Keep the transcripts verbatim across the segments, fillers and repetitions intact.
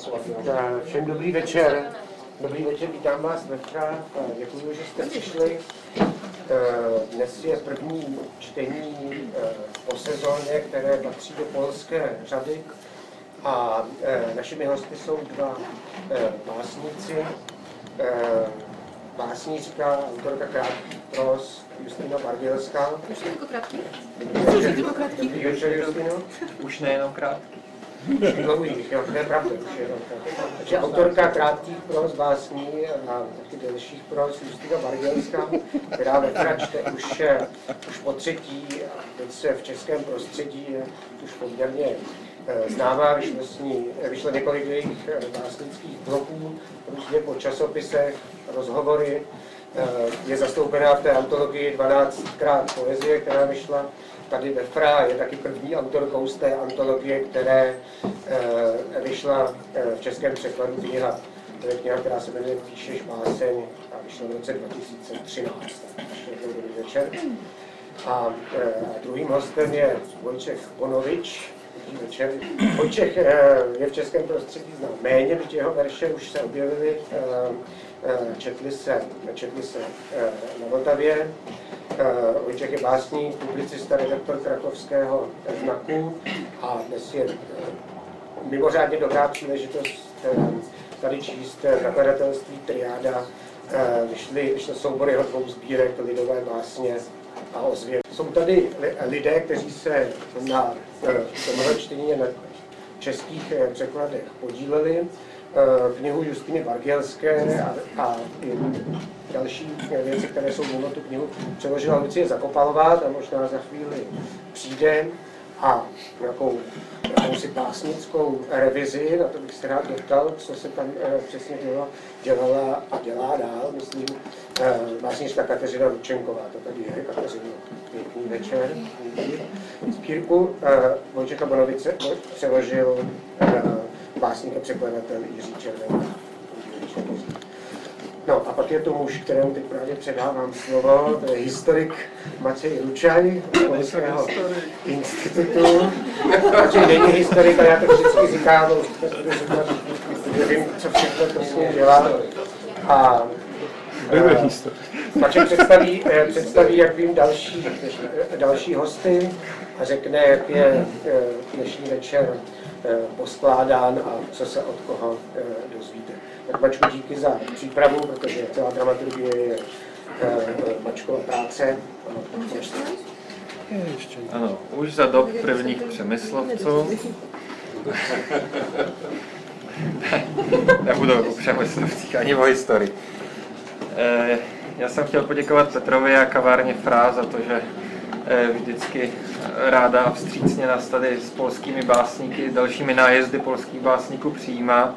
Všem dobrý večer. Dobrý večer, vítám vás Petra. Děkuji, že jste přišli. Dnes je první čtení po sezóně, které patří do polské řady. A našimi hosty jsou dva básníci. Básnířka, autorka krátkých pros Justina Bardělská. Už je to krátký? Dobrý večer, Justino. Už nejenom krátký. Dlouhých, jo, to je pravda. Takže autorka krátkých pros, básní a taky delších pros Justina Bardělská, která Petra čte už, už po třetí a teď se v českém prostředí je už poměrně známá, vyšlo, s ní, vyšlo několik jejich básnických bloků, různě po časopisech, rozhovory. Je zastoupená v té antologii dvanáctkrát poezie, která vyšla tady ve Fra, je taky první autorkou z té antologie, které vyšla v českém překladu kniha. To je kniha, která se jmenuje Píšeš báseň a vyšla v roce dva tisíce třináct. Dobrý večer. A druhým hostem je Vojtěch Bonovič. Večer. Vojtěch je v českém prostředí znám méně, byť jeho verše už se objevily, četli se, četli se na Vltavě. Vojtěch je básník, publicista, redaktor krakovského Znaku a dnes je mimořádně dobrá příležitost tady číst nakladatelství Triáda. Vyšly, vyšly soubory jeho dvou sbírek Lidové básně a ozvěd. Jsou tady lidé, kteří se na tomhle čtení na českých překladech podíleli. Knihu Justiny Bardělské a, a další věci, které jsou mimo tu knihu, přeložila Lucie Zakopalová, ta možná za chvíli přijde, a nějakou jakousi básnickou revizi, na to bych se rád doptal, co se tam eh, přesně dělo, dělala a dělá dál, myslím, eh, básnička Kateřina Ručenková, to tady je, Kateřina, pěkný večer. Sbírku eh, Vojtěcha Bonovice přeložil eh, básník a překladatel Jiří Červený. No a pak je to muž, kterému teď právě předávám slovo, to je historik Matěj Ručaj z Polského institutu. Matěj není historik, ale já to vždycky říkám, že vím, co všechno to s ním dělá. A Matěj představí, představí, jak vím, další, další hosty a řekne, jak je dnešní večer poskládán a co se od koho dozvíte. Tak Mačku, díky za přípravu, protože celá dramaturgie je Mačkova práce. Ano, už za dob prvních přemyslovců. Nebudu o přemyslovcích ani o historii. Já jsem chtěl poděkovat Petrovi a kavárně Fra za to, že vždycky ráda a vstřícně nás tady s polskými básníky, dalšími nájezdy polských básníků přijímá.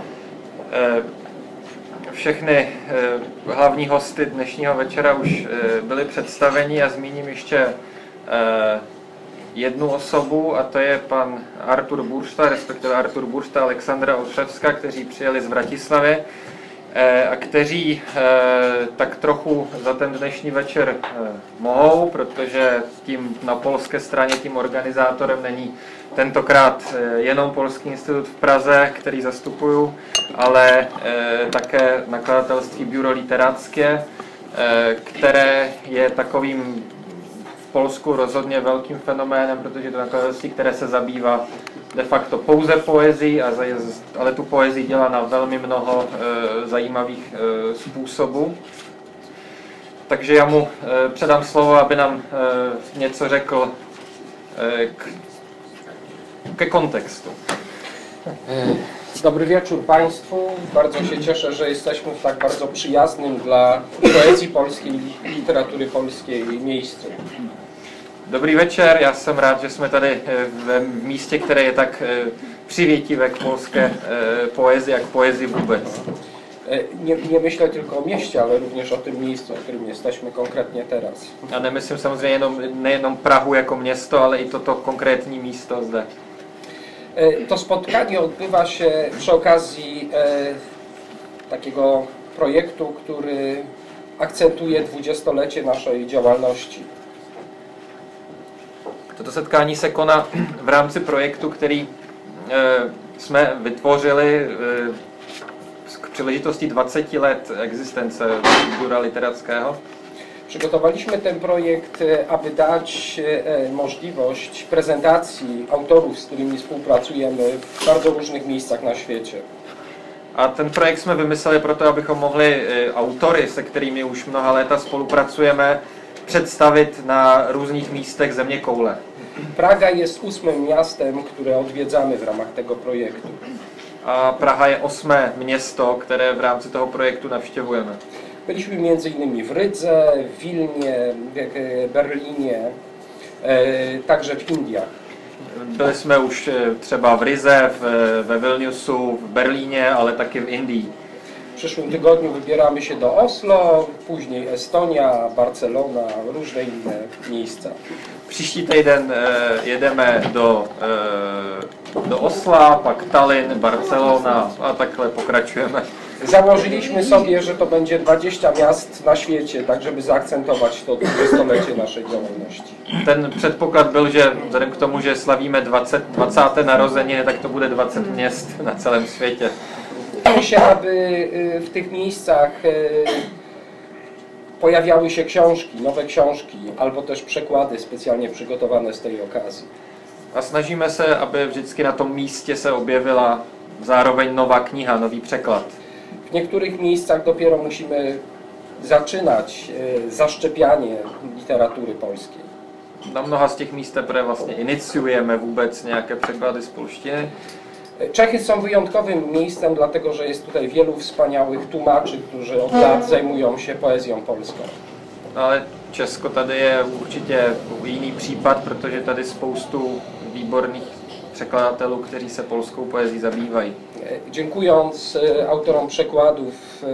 Všechny hlavní hosty dnešního večera už byly představeni a zmíním ještě jednu osobu, a to je pan Artur Buršta, respektive Artur Buršta a Alexandra Olszewska, kteří přijeli z Vratislavy a kteří tak trochu za ten dnešní večer mohou, protože tím na polské straně tím organizátorem není tentokrát jenom Polský institut v Praze, který zastupuju, ale také nakladatelství Biuro Literackie, které je takovým v Polsku rozhodně velkým fenoménem, protože je to nakladatelství, které se zabývá de facto pouze poezii, ale tu poezii dělá na velmi mnoho zajímavých způsobů. Takže já mu předám slovo, aby nám něco řekl k, ke kontextu. Dobry wieczór Państwu. Bardzo się cieszę, że jesteśmy w tak bardzo przyjaznym dla poezji polskiej, literatury polskiej miejscu. Dobrý večer, já jsem rád, že jsme tady v místě, které je tak přivětivé k polské poezji, jak poezji vůbec. Nie, nie myślę tylko o mieście, ale również o tym miejscu, w którym jesteśmy konkretnie teraz. A nemyslím samozřejmě jenom, nejenom Prahu jako město, ale i toto konkrétní místo zde. To spotkanie odbywa się przy okazji e, takiego projektu, który akcentuje dwudziestolecie naszej działalności. Toto setkání se koná v rámci projektu, který jsme vytvořili k příležitosti dvaceti let existence Biura Literackiego. Przygotowaliśmy ten projekt, aby dać możliwość prezentacji autorów, z którymi współpracujemy w bardzo różnych miejscach na świecie. A ten projekt jsme vymysleli proto, abychom mohli autory, se kterými už mnoha léta spolupracujeme, představit na různých místech zeměkoule. Praga jest ósmym miastem, które odwiedzamy w ramach tego projektu. A Praha je osmé město, které v rámci toho projektu navštěvujeme. Byliśmy między innymi w Rydze, w Wilnie, w Berlinie, także w Indiach. Byli jsme už třeba v Rize, v, ve Vilniusu, v Berlíně, ale taky v Indii. W przyszłym tygodniu wybieramy się do Oslo, później Estonia, Barcelona, różne inne miejsca. Příští týden jedeme do, do Osla, pak Tallinn, Barcelona a takhle pokračujeme. Założyliśmy sobie, że to będzie dwadzieścia miast na świecie, tak żeby zaakcentować to dwudziestolecie naszej działalności. Ten předpoklad byl, že vzhledem k tomu, že slavíme dvacáté narozeniny, tak to bude dvacet měst na celém světě. Chcemy się, aby w tych miejscach pojawiały się książki, nowe książki, albo też przekłady specjalnie przygotowane z tej okazji. A snažíme se, aby vždycky na tom místě se objevila zároveň nová kniha, nový překlad. W niektórych miejscach dopiero musimy zaczynać zaszczepianie literatury polskiej. Na mnoha z těch míst teprve vlastně iniciujeme vůbec nějaké překlady z polštiny. Czechy są wyjątkowym miejscem, dlatego że jest tutaj wielu wspaniałych tłumaczy, którzy od lat zajmują się poezją polską. Ale Česko tady je určitě jiný případ, protože tady spoustu výborných překladatelů, kteří se polskou poezí zabývají. Dziękując autorom przekładów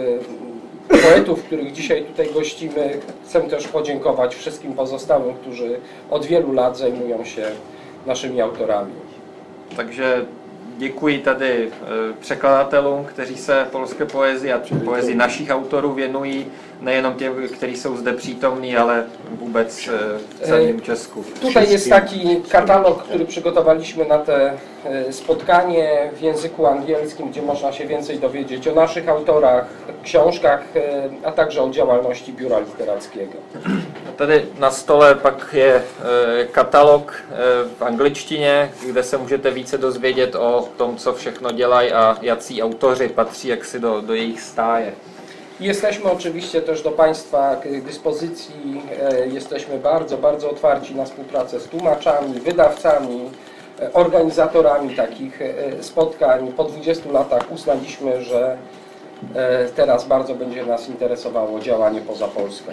poetów, których dzisiaj tutaj gościmy, chcę też podziękować wszystkim pozostałym, którzy od wielu lat zajmują się naszymi autorami. Takže děkuji tady překladatelům, kteří se polské poezii a poezii našich autorů věnují, nejenom těm, kteří jsou zde přítomní, ale vůbec v celém Česku. Tutaj jest taki katalog, który przygotowaliśmy na te spotkanie w języku angielskim, gdzie można się więcej dowiedzieć o naszych autorach, książkach, a także o działalności Biura Literackiego. Tady na stole pak je katalog v angličtině, kde se můžete více dozvědět o tom, co všechno dělají a jací autoři patří jaksi do, do jejich stáje. Jesteśmy oczywiście też do Państwa dyspozycji, jesteśmy bardzo, bardzo otwarci na współpracę z tłumaczami, wydawcami, organizatorami takich spotkań. Po dwudziestu latach uznaliśmy, że teraz bardzo będzie nas interesowało działanie poza Polską.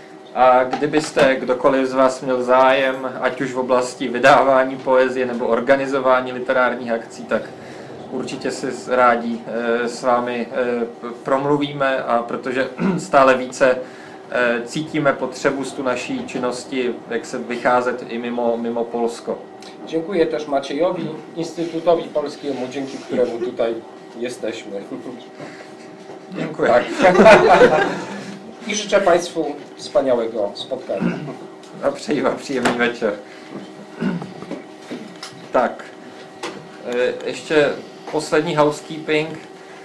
A kdybyste kdokoliv z vás měl zájem, ať už v oblasti vydávání poezie nebo organizování literárních akcí, tak určitě si rádi s vámi promluvíme, a protože stále více cítíme potřebu z tu naší činnosti, jak se vycházet i mimo, mimo Polsko. Dziękuję też Maciejowi, Instytutowi Polskiemu, dzięki któremu tutaj jesteśmy. Dziękuję. Tak. I życzę Państwu wspaniałego spotkania. A přeji vám příjemný večer. Tak, ještě poslední housekeeping.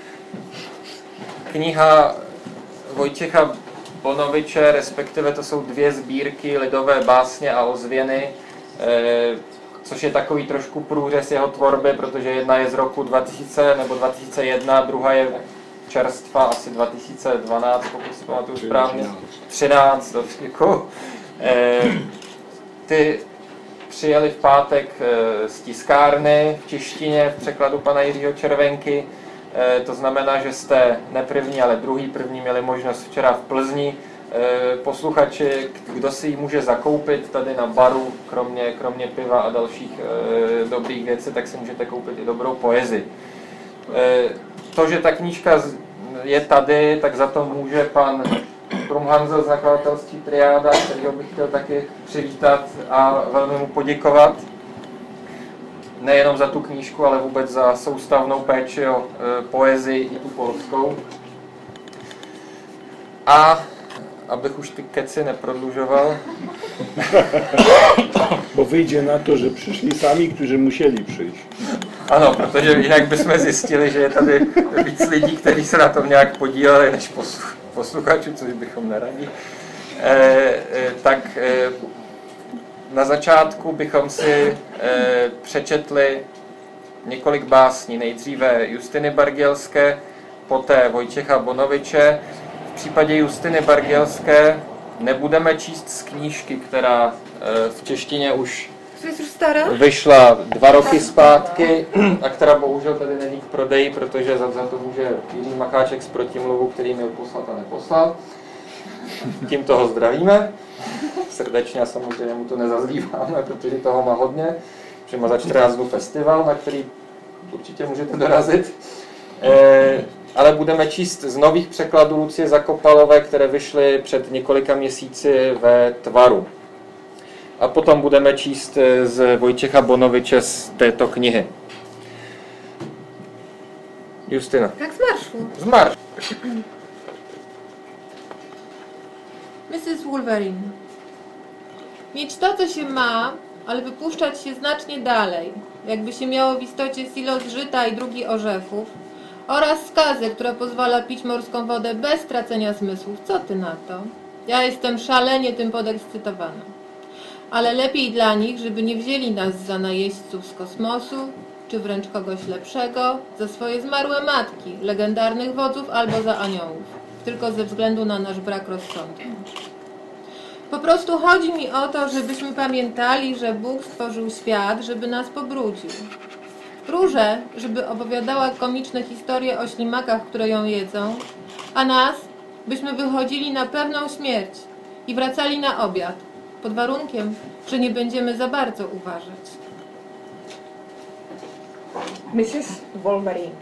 Kniha Vojtěcha Bonoviče, respektive to jsou dvě sbírky lidové básně a ozvěny, což je takový trošku průřez jeho tvorby, protože jedna je z roku dva tisíce nebo dva tisíce jedna, druhá je čerstva, asi dva tisíce dvanáct, pokud si pamatuju správně. třináct, děkuji. Ty přijeli v pátek z tiskárny v češtině v překladu pana Jiřího Červenky. To znamená, že jste ne první, ale druhý první měli možnost včera v Plzni. Posluchači, kdo si ji může zakoupit tady na baru, kromě, kromě piva a dalších dobrých věcí, tak si můžete koupit i dobrou poezii. To, že ta knížka je tady, tak za to může pan Brumhanzel z nakladatelství Triáda, kterého bych chtěl taky přivítat a velmi mu poděkovat. Nejenom za tu knížku, ale vůbec za soustavnou péči o e, poezii i tu polskou. A abych už ty keci neprodlužoval. Bo wyjdzie na to, że przyszli sami, którzy musieli przyjść. Ano, protože jinak bychom zjistili, že je tady víc lidí, kteří se na tom nějak podíleli, než posluchačů, což bychom neradi. E, e, tak e, na začátku bychom si e, přečetli několik básní. Nejdříve Justiny Bargielské, poté Vojtěcha Bonoviče. V případě Justiny Bargielské nebudeme číst z knížky, která e, v češtině už vyšla dva roky zpátky a která bohužel tady není k prodeji, protože za, za to může Jiří Macháček z Protimluvu, který měl poslat a neposlal. Tím toho zdravíme. Srdečně a samozřejmě mu to nezazlíváme, protože toho má hodně. Protože má za čtrnáct dnů festival, na který určitě můžete dorazit. E, ale budeme číst z nových překladů Lucie Zakopalové, které vyšly před několika měsíci ve Tvaru. A potom budeme číst z Vojtěcha Bonoviče z této knihy. Justina. Tak z marszu. Z marszu. missus Wolverine. Mieć to, co się ma, ale wypuszczać się znacznie dalej, jakby się miało w istocie silo zżyta i drugi orzechów, oraz skazę, która pozwala pić morską wodę bez stracenia zmysłów. Co ty na to? Ja jestem szalenie tym podekscytowana. Ale lepiej dla nich, żeby nie wzięli nas za najeźdźców z kosmosu, czy wręcz kogoś lepszego, za swoje zmarłe matki, legendarnych wodzów albo za aniołów, tylko ze względu na nasz brak rozsądku. Po prostu chodzi mi o to, żebyśmy pamiętali, że Bóg stworzył świat, żeby nas pobrudził. Różę, żeby opowiadała komiczne historie o ślimakach, które ją jedzą, a nas, byśmy wychodzili na pewną śmierć i wracali na obiad, pod warunkiem, że nie będziemy za bardzo uważać. missus Wolverine.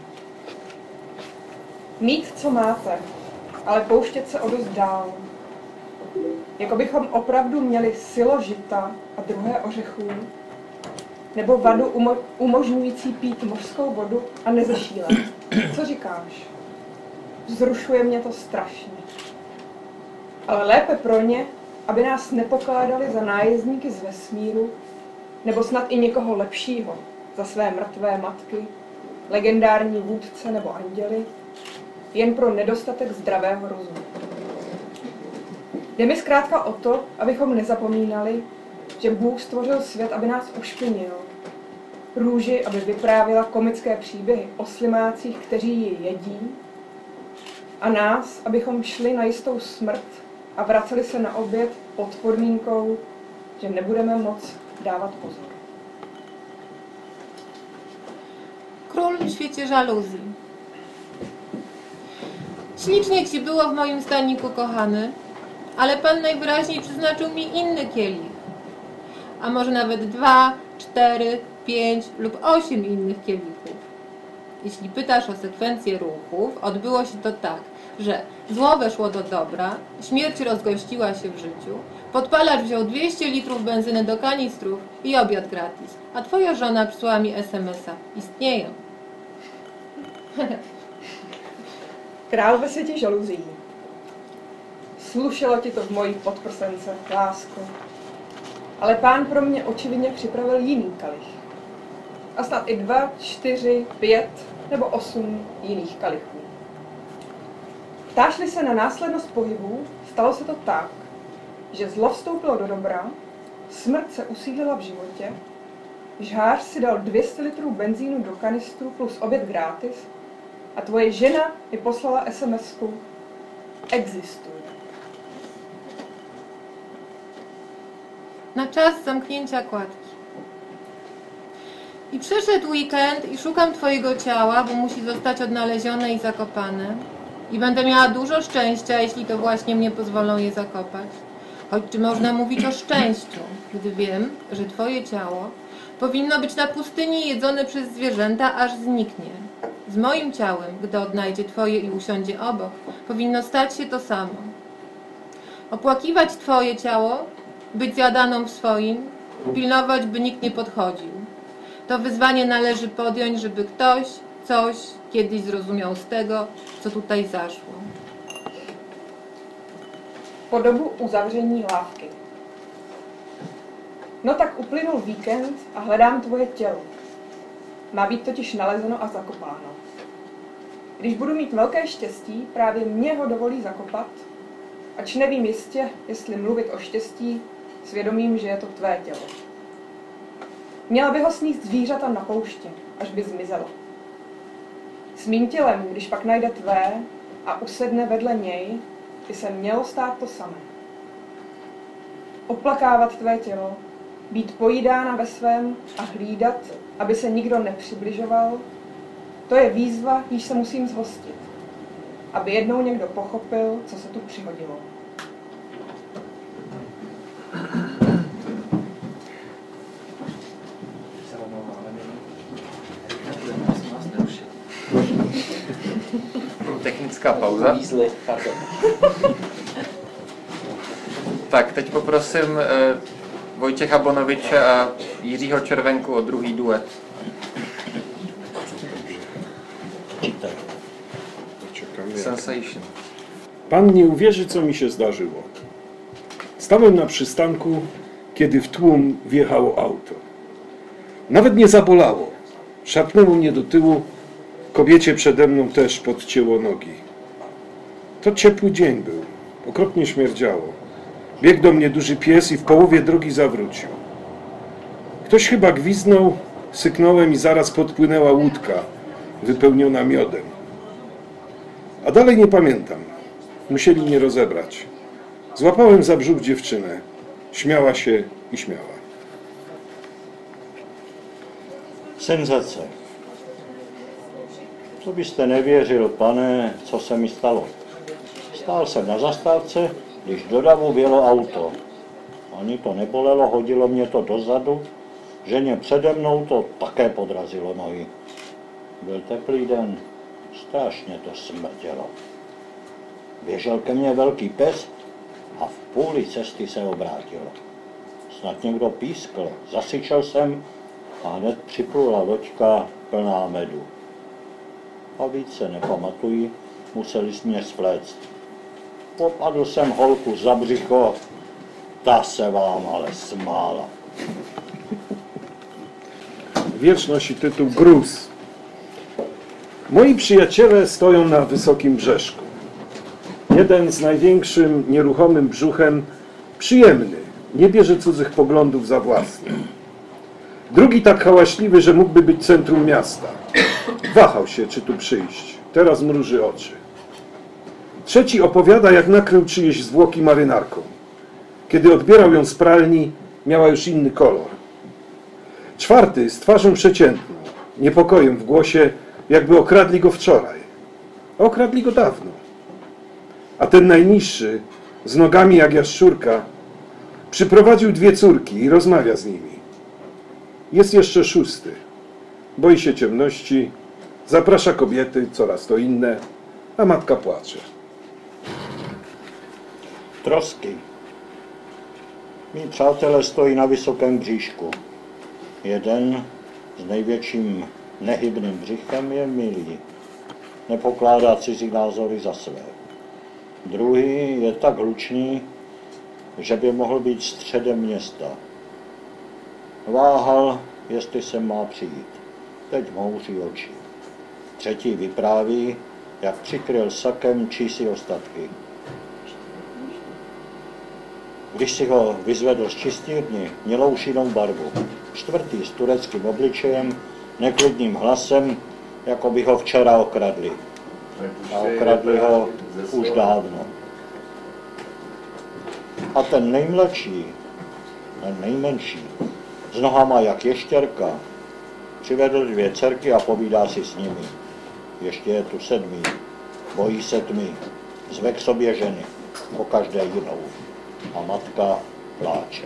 Mít, co máte, ale pouštět se o dost dál. Jako bychom opravdu měli silo žita a druhé ořechů, nebo vadu umo- umožňující pít mořskou vodu a nezešílet. Co říkáš? Vzrušuje mě to strašně. Ale lépe pro ně, aby nás nepokládali za nájezdníky z vesmíru, nebo snad i někoho lepšího, za své mrtvé matky, legendární vůdce nebo anděly, jen pro nedostatek zdravého rozumu. Jde mi zkrátka o to, abychom nezapomínali, že Bůh stvořil svět, aby nás ušpinil. Růži, aby vyprávěla komické příběhy o slimácích, kteří ji jedí, a nás, abychom šli na jistou smrt a vraceli se na oběd pod podmínkou, že nebudeme moc dávat pozor. Król w świecie żaluzji. Ślicznie ci było w moim staniku, kochany, ale Pan najwyraźniej przeznaczył mi inny kielich. A może nawet dwa, cztery, pięć lub osiem innych kielichów. Jeśli pytasz o sekwencję ruchów, odbyło się to tak, że zło weszło do dobra, śmierć rozgościła się w życiu, podpalacz wziął dwieście litrów benzyny do kanistrów i obiad gratis, a twoja żona przysłała mi es em es a. Istnieją. Král ve světě žaluzí. Slušelo ti to v mojí podprsence, lásko. Ale Pán pro mě očividně připravil jiný kalich. A snad i dva, čtyři, pět nebo osm jiných kalichů. Ptáš-li se na následnost pohybů, stalo se to tak, že zlo vstoupilo do dobra, smrt se usídlila v životě, žhář si dal dvě stě litrů benzínu do kanistru plus oběd gratis a tvoje žena mi poslala es em esku. Existuje. Na czas zamknięcia kładki. I przyszedł weekend i szukam twojego ciała, bo musi zostać odnalezione i zakopane. I będę miała dużo szczęścia, jeśli to właśnie mnie pozwolą je zakopać. Choć czy można mówić o szczęściu, gdy wiem, że twoje ciało powinno być na pustyni jedzone przez zwierzęta, aż zniknie. Z moim ciałem, gdy odnajdzie twoje i usiądzie obok, powinno stać się to samo. Opłakiwać twoje ciało, być zjadaną w swoim, pilnować, by nikt nie podchodził. To wyzwanie należy podjąć, żeby ktoś coś kiedyś zrozumiał z tego, co tutaj zaszło. Po dobu uzavření lávky. No tak uplynul víkend a hledám tvoje tělo. Má být totiž nalezeno a zakopáno. Když budu mít velké štěstí, právě mě ho dovolí zakopat, ač nevím jistě, jestli mluvit o štěstí, svědomím, že je to tvé tělo. Měla by ho sníst zvířata na poušti, až by zmizelo. S mým tělem, když pak najde tvé a usedne vedle něj, by se mělo stát to samé. Oplakávat tvé tělo, být pojídána ve svém a hlídat, aby se nikdo nepřibližoval, to je výzva, jíž se musím zhostit, aby jednou někdo pochopil, co se tu přihodilo. Technická pauza. Tak, teď poprosím eh, Vojtěcha Bonoviče a Jiřího Červenku o druhý duet. Sensation. Pan nie uwierzy, co mi się zdarzyło. Stałem na przystanku, kiedy w tłum wjechało auto. Nawet nie zabolało. Szarpnęło mnie do tyłu. Kobiecie przede mną też podcięło nogi. To ciepły dzień był. Okropnie śmierdziało. Biegł do mnie duży pies i w połowie drogi zawrócił. Ktoś chyba gwizdnął, syknąłem i zaraz podpłynęła łódka wypełniona miodem. A dalej nie pamiętam. Musieli mnie rozebrać. Złapałem za brzuch dziewczynę. Śmiała się i śmiała. Senzace. Co byste nevěřil, pane, co se mi stalo. Stál jsem na zastávce, když do davu vjelo auto. Ani to nebolelo, hodilo mě to dozadu, ženě přede mnou to také podrazilo nohy. Byl teplý den, strašně to smrdělo. Běžel ke mně velký pes a v půli cesty se obrátil. Snad někdo pískl, zasyčel jsem a hned připlula loďka plná medu. A víc se nepamatuji, museli jsme mě svléct. Popadl jsem holku za břicho, ta se vám ale smála. Wiersz nosi tytuł Gruz. Moi przyjaciele stoją na wysokim brzeszku. Jeden z największym, nieruchomym brzuchem, przyjemny, nie bierze cudzych poglądów za własne. Drugi tak hałaśliwy, że mógłby być centrum miasta. Wahał się, czy tu przyjść. Teraz mruży oczy. Trzeci opowiada, jak nakrył czyjeś zwłoki marynarką. Kiedy odbierał ją z pralni, miała już inny kolor. Czwarty z twarzą przeciętną, niepokojem w głosie, jakby okradli go wczoraj. A okradli go dawno. A ten najniższy, z nogami jak jaszczurka, przyprowadził dwie córki i rozmawia z nimi. Jest jeszcze szósty. Boi się ciemności, zaprasza kobiety, coraz to inne, a matka płacze. Trosky. Mí přátelé stojí na vysokém bříšku. Jeden s největším nehybným břichem je milý. Nepokládá cizí názory za své. Druhý je tak hlučný, že by mohl být středem města. Váhal, jestli se má přijít. Teď mouří oči. Třetí vypráví, jak přikryl sakem čísi ostatky. Když si ho vyzvedl z čistírny, mělo už jinou barvu. Čtvrtý s tureckým obličejem, neklidným hlasem, jako by ho včera okradli. A okradli ho už dávno. A ten nejmladší, ten nejmenší, s nohama jak ještěrka, přivedl dvě dcerky a povídá si s nimi. Ještě je tu sedmý, bojí se tmy, zve k sobě ženy, po každé jinou. A matka pláče.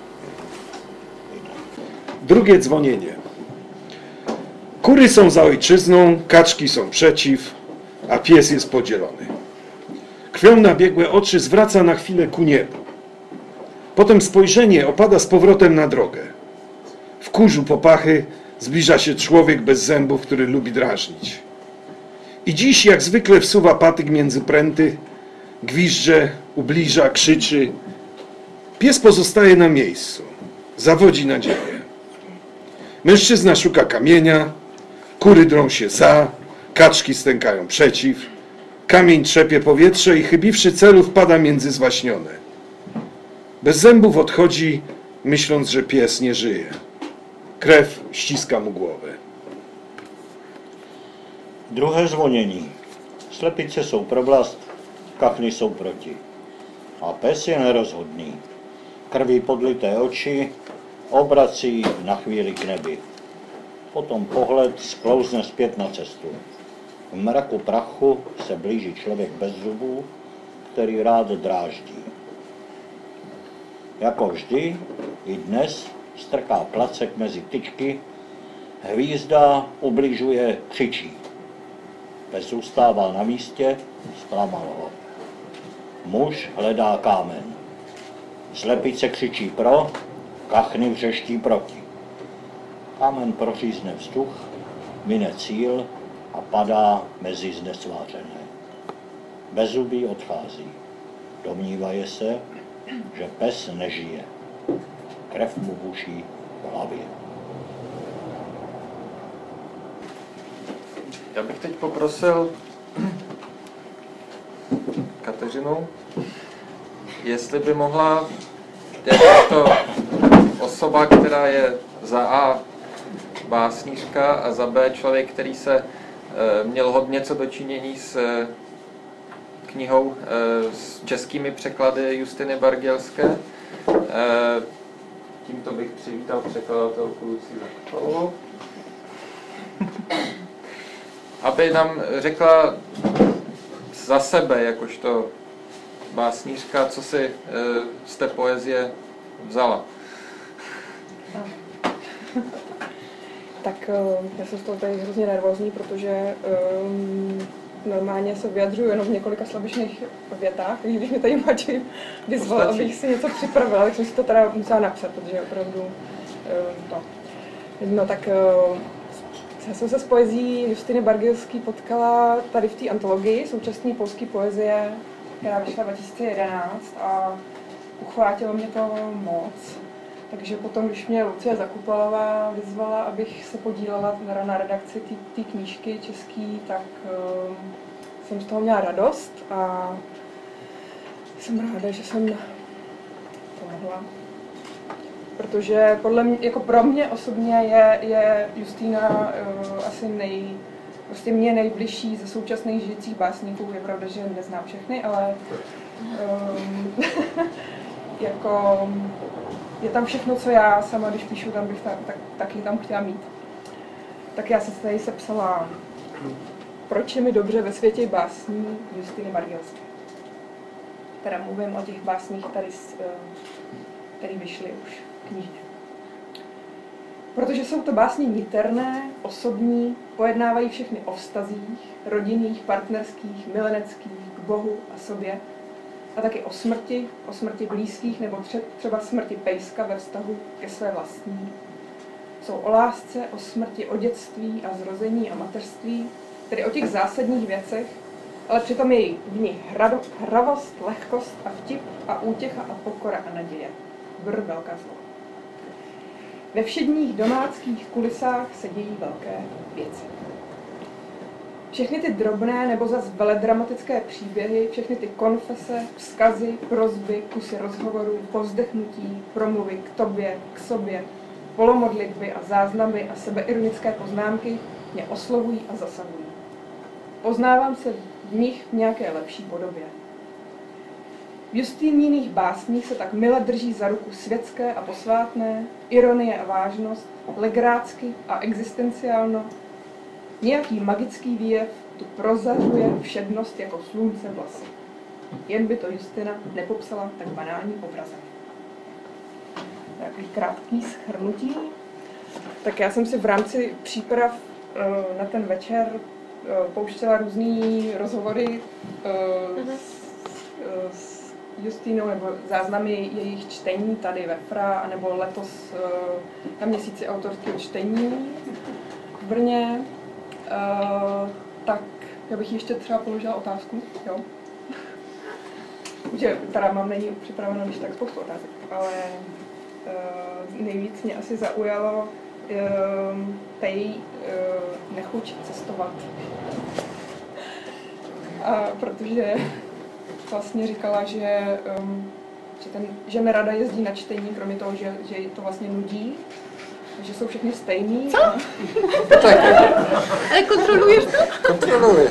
Drugie dzwonienie. Kury są za ojczyzną, kaczki są przeciw, a pies jest podzielony. Krwią nabiegłe oczy zwraca na chwilę ku niebu. Potem spojrzenie opada z powrotem na drogę. W kurzu popachy zbliża się człowiek bez zębów, który lubi drażnić. I dziś jak zwykle wsuwa patyk między pręty, gwizdże, ubliża, krzyczy. Pies pozostaje na miejscu. Zawodzi nadzieję. Mężczyzna szuka kamienia, kury drą się za, kaczki stękają przeciw, kamień trzepie powietrze i chybiwszy celu wpada między zwaśnione. Bez zębów odchodzi, myśląc, że pies nie żyje. Krew ściska mu głowę. Druhé zvonění. Slepice jsou pro vlast, kachny jsou proti. A pes je nerozhodný. Krví podlité oči obrací na chvíli k nebi. Potom pohled sklouzne zpět na cestu. V mraku prachu se blíží člověk bez zubů, který rád dráždí. Jako vždy, i dnes strká placek mezi tyčky, hvízda ubližuje, křičí. Pes zůstává na místě, zklamal ho. Muž hledá kámen. Slepice křičí pro, kachny vřeští proti. Kámen prořízne vzduch, mine cíl a padá mezi znesvářené. Bezzubý odchází. Domnívaje se, že pes nežije. Krev mu buší v hlavě. Já bych teď poprosil Kateřinu, jestli by mohla jakožto osoba, která je za A básnířka a za B člověk, který se e, měl hodně co dočinění s e, knihou e, s českými překlady Justiny Bargelské. E, tímto bych přivítal překladatelku Lucii Zakopalovou, aby nám řekla za sebe, jakožto básnířka, co si e, z té poezie vzala. Tak já jsem z toho tady hrozně nervózní, protože um, normálně se vyjadřuju jenom v několika slabičných větách, takže když mě tady Matěj vyzval, abych si něco připravila, tak jsem si to teda musela napsat, protože opravdu um, to. No tak um, já jsem se s poezí Justiny Bargelské potkala tady v té antologii současné polské poezie, která vyšla dva tisíce jedenáct a uchvátilo mě to moc. Takže potom, když mě Lucie Zakupalová vyzvala, abych se podílela na redakci té knížky český, tak uh, jsem z toho měla radost a jsem ráda, že jsem to mohla. Protože podle mě, jako pro mě osobně je, je Justína uh, asi nej, prostě mě nejbližší ze současných žijících básníků. Je pravda, že neznám všechny, ale um, jako je tam všechno, co já sama, když píšu, tam bych ta, tak, taky tam chtěla mít. Tak já jsem tady sepsala Proč je mi dobře ve světě básní Justiny Bargelské. Teda mluvím o těch básních, tady, které vyšly už v knižně. Protože jsou to básně niterné, osobní, pojednávají všechny o vztazích, rodinných, partnerských, mileneckých, k Bohu a sobě, a taky o smrti, o smrti blízkých nebo třeba smrti pejska ve vztahu ke své vlastní. Jsou o lásce, o smrti, o dětství a zrození a mateřství, tedy o těch zásadních věcech, ale přitom je v nich hravost, lehkost a vtip a útěcha a pokora a naděje. Brr, velká slova. Ve všedních domáckých kulisách se dějí velké věci. Všechny ty drobné nebo zas veledramatické příběhy, všechny ty konfese, vzkazy, prosby, kusy rozhovorů, povzdechnutí, promluvy k tobě, k sobě, polomodlitby a záznamy a sebeironické poznámky mě oslovují a zasahují. Poznávám se v nich v nějaké lepší podobě. V Justýniných básních se tak mile drží za ruku světské a posvátné, ironie a vážnost, legrácky a existenciálno. Nějaký magický výjev tu prozařuje všednost jako slunce vlasy. Jen by to Justina nepopsala tak banálním obrazem. Takový krátký shrnutí. Tak já jsem si v rámci příprav na ten večer pouštěla různý rozhovory s, s Justínou nebo záznamy jejich čtení tady ve F R A, nebo letos na měsíci autorského čtení v Brně. Uh, tak já bych ještě třeba položila otázku, jo. Že teda mám není připraveno když tak spoustu otázek, ale uh, nejvíc mě asi zaujalo, tej nechuť cestovat. A protože vlastně říkala, že, že, ten, že nerada jezdí na čtení, kromě toho, že, že to vlastně nudí, že jsou všechny stejný. Co? Ale kontroluješ to? Kontroluji.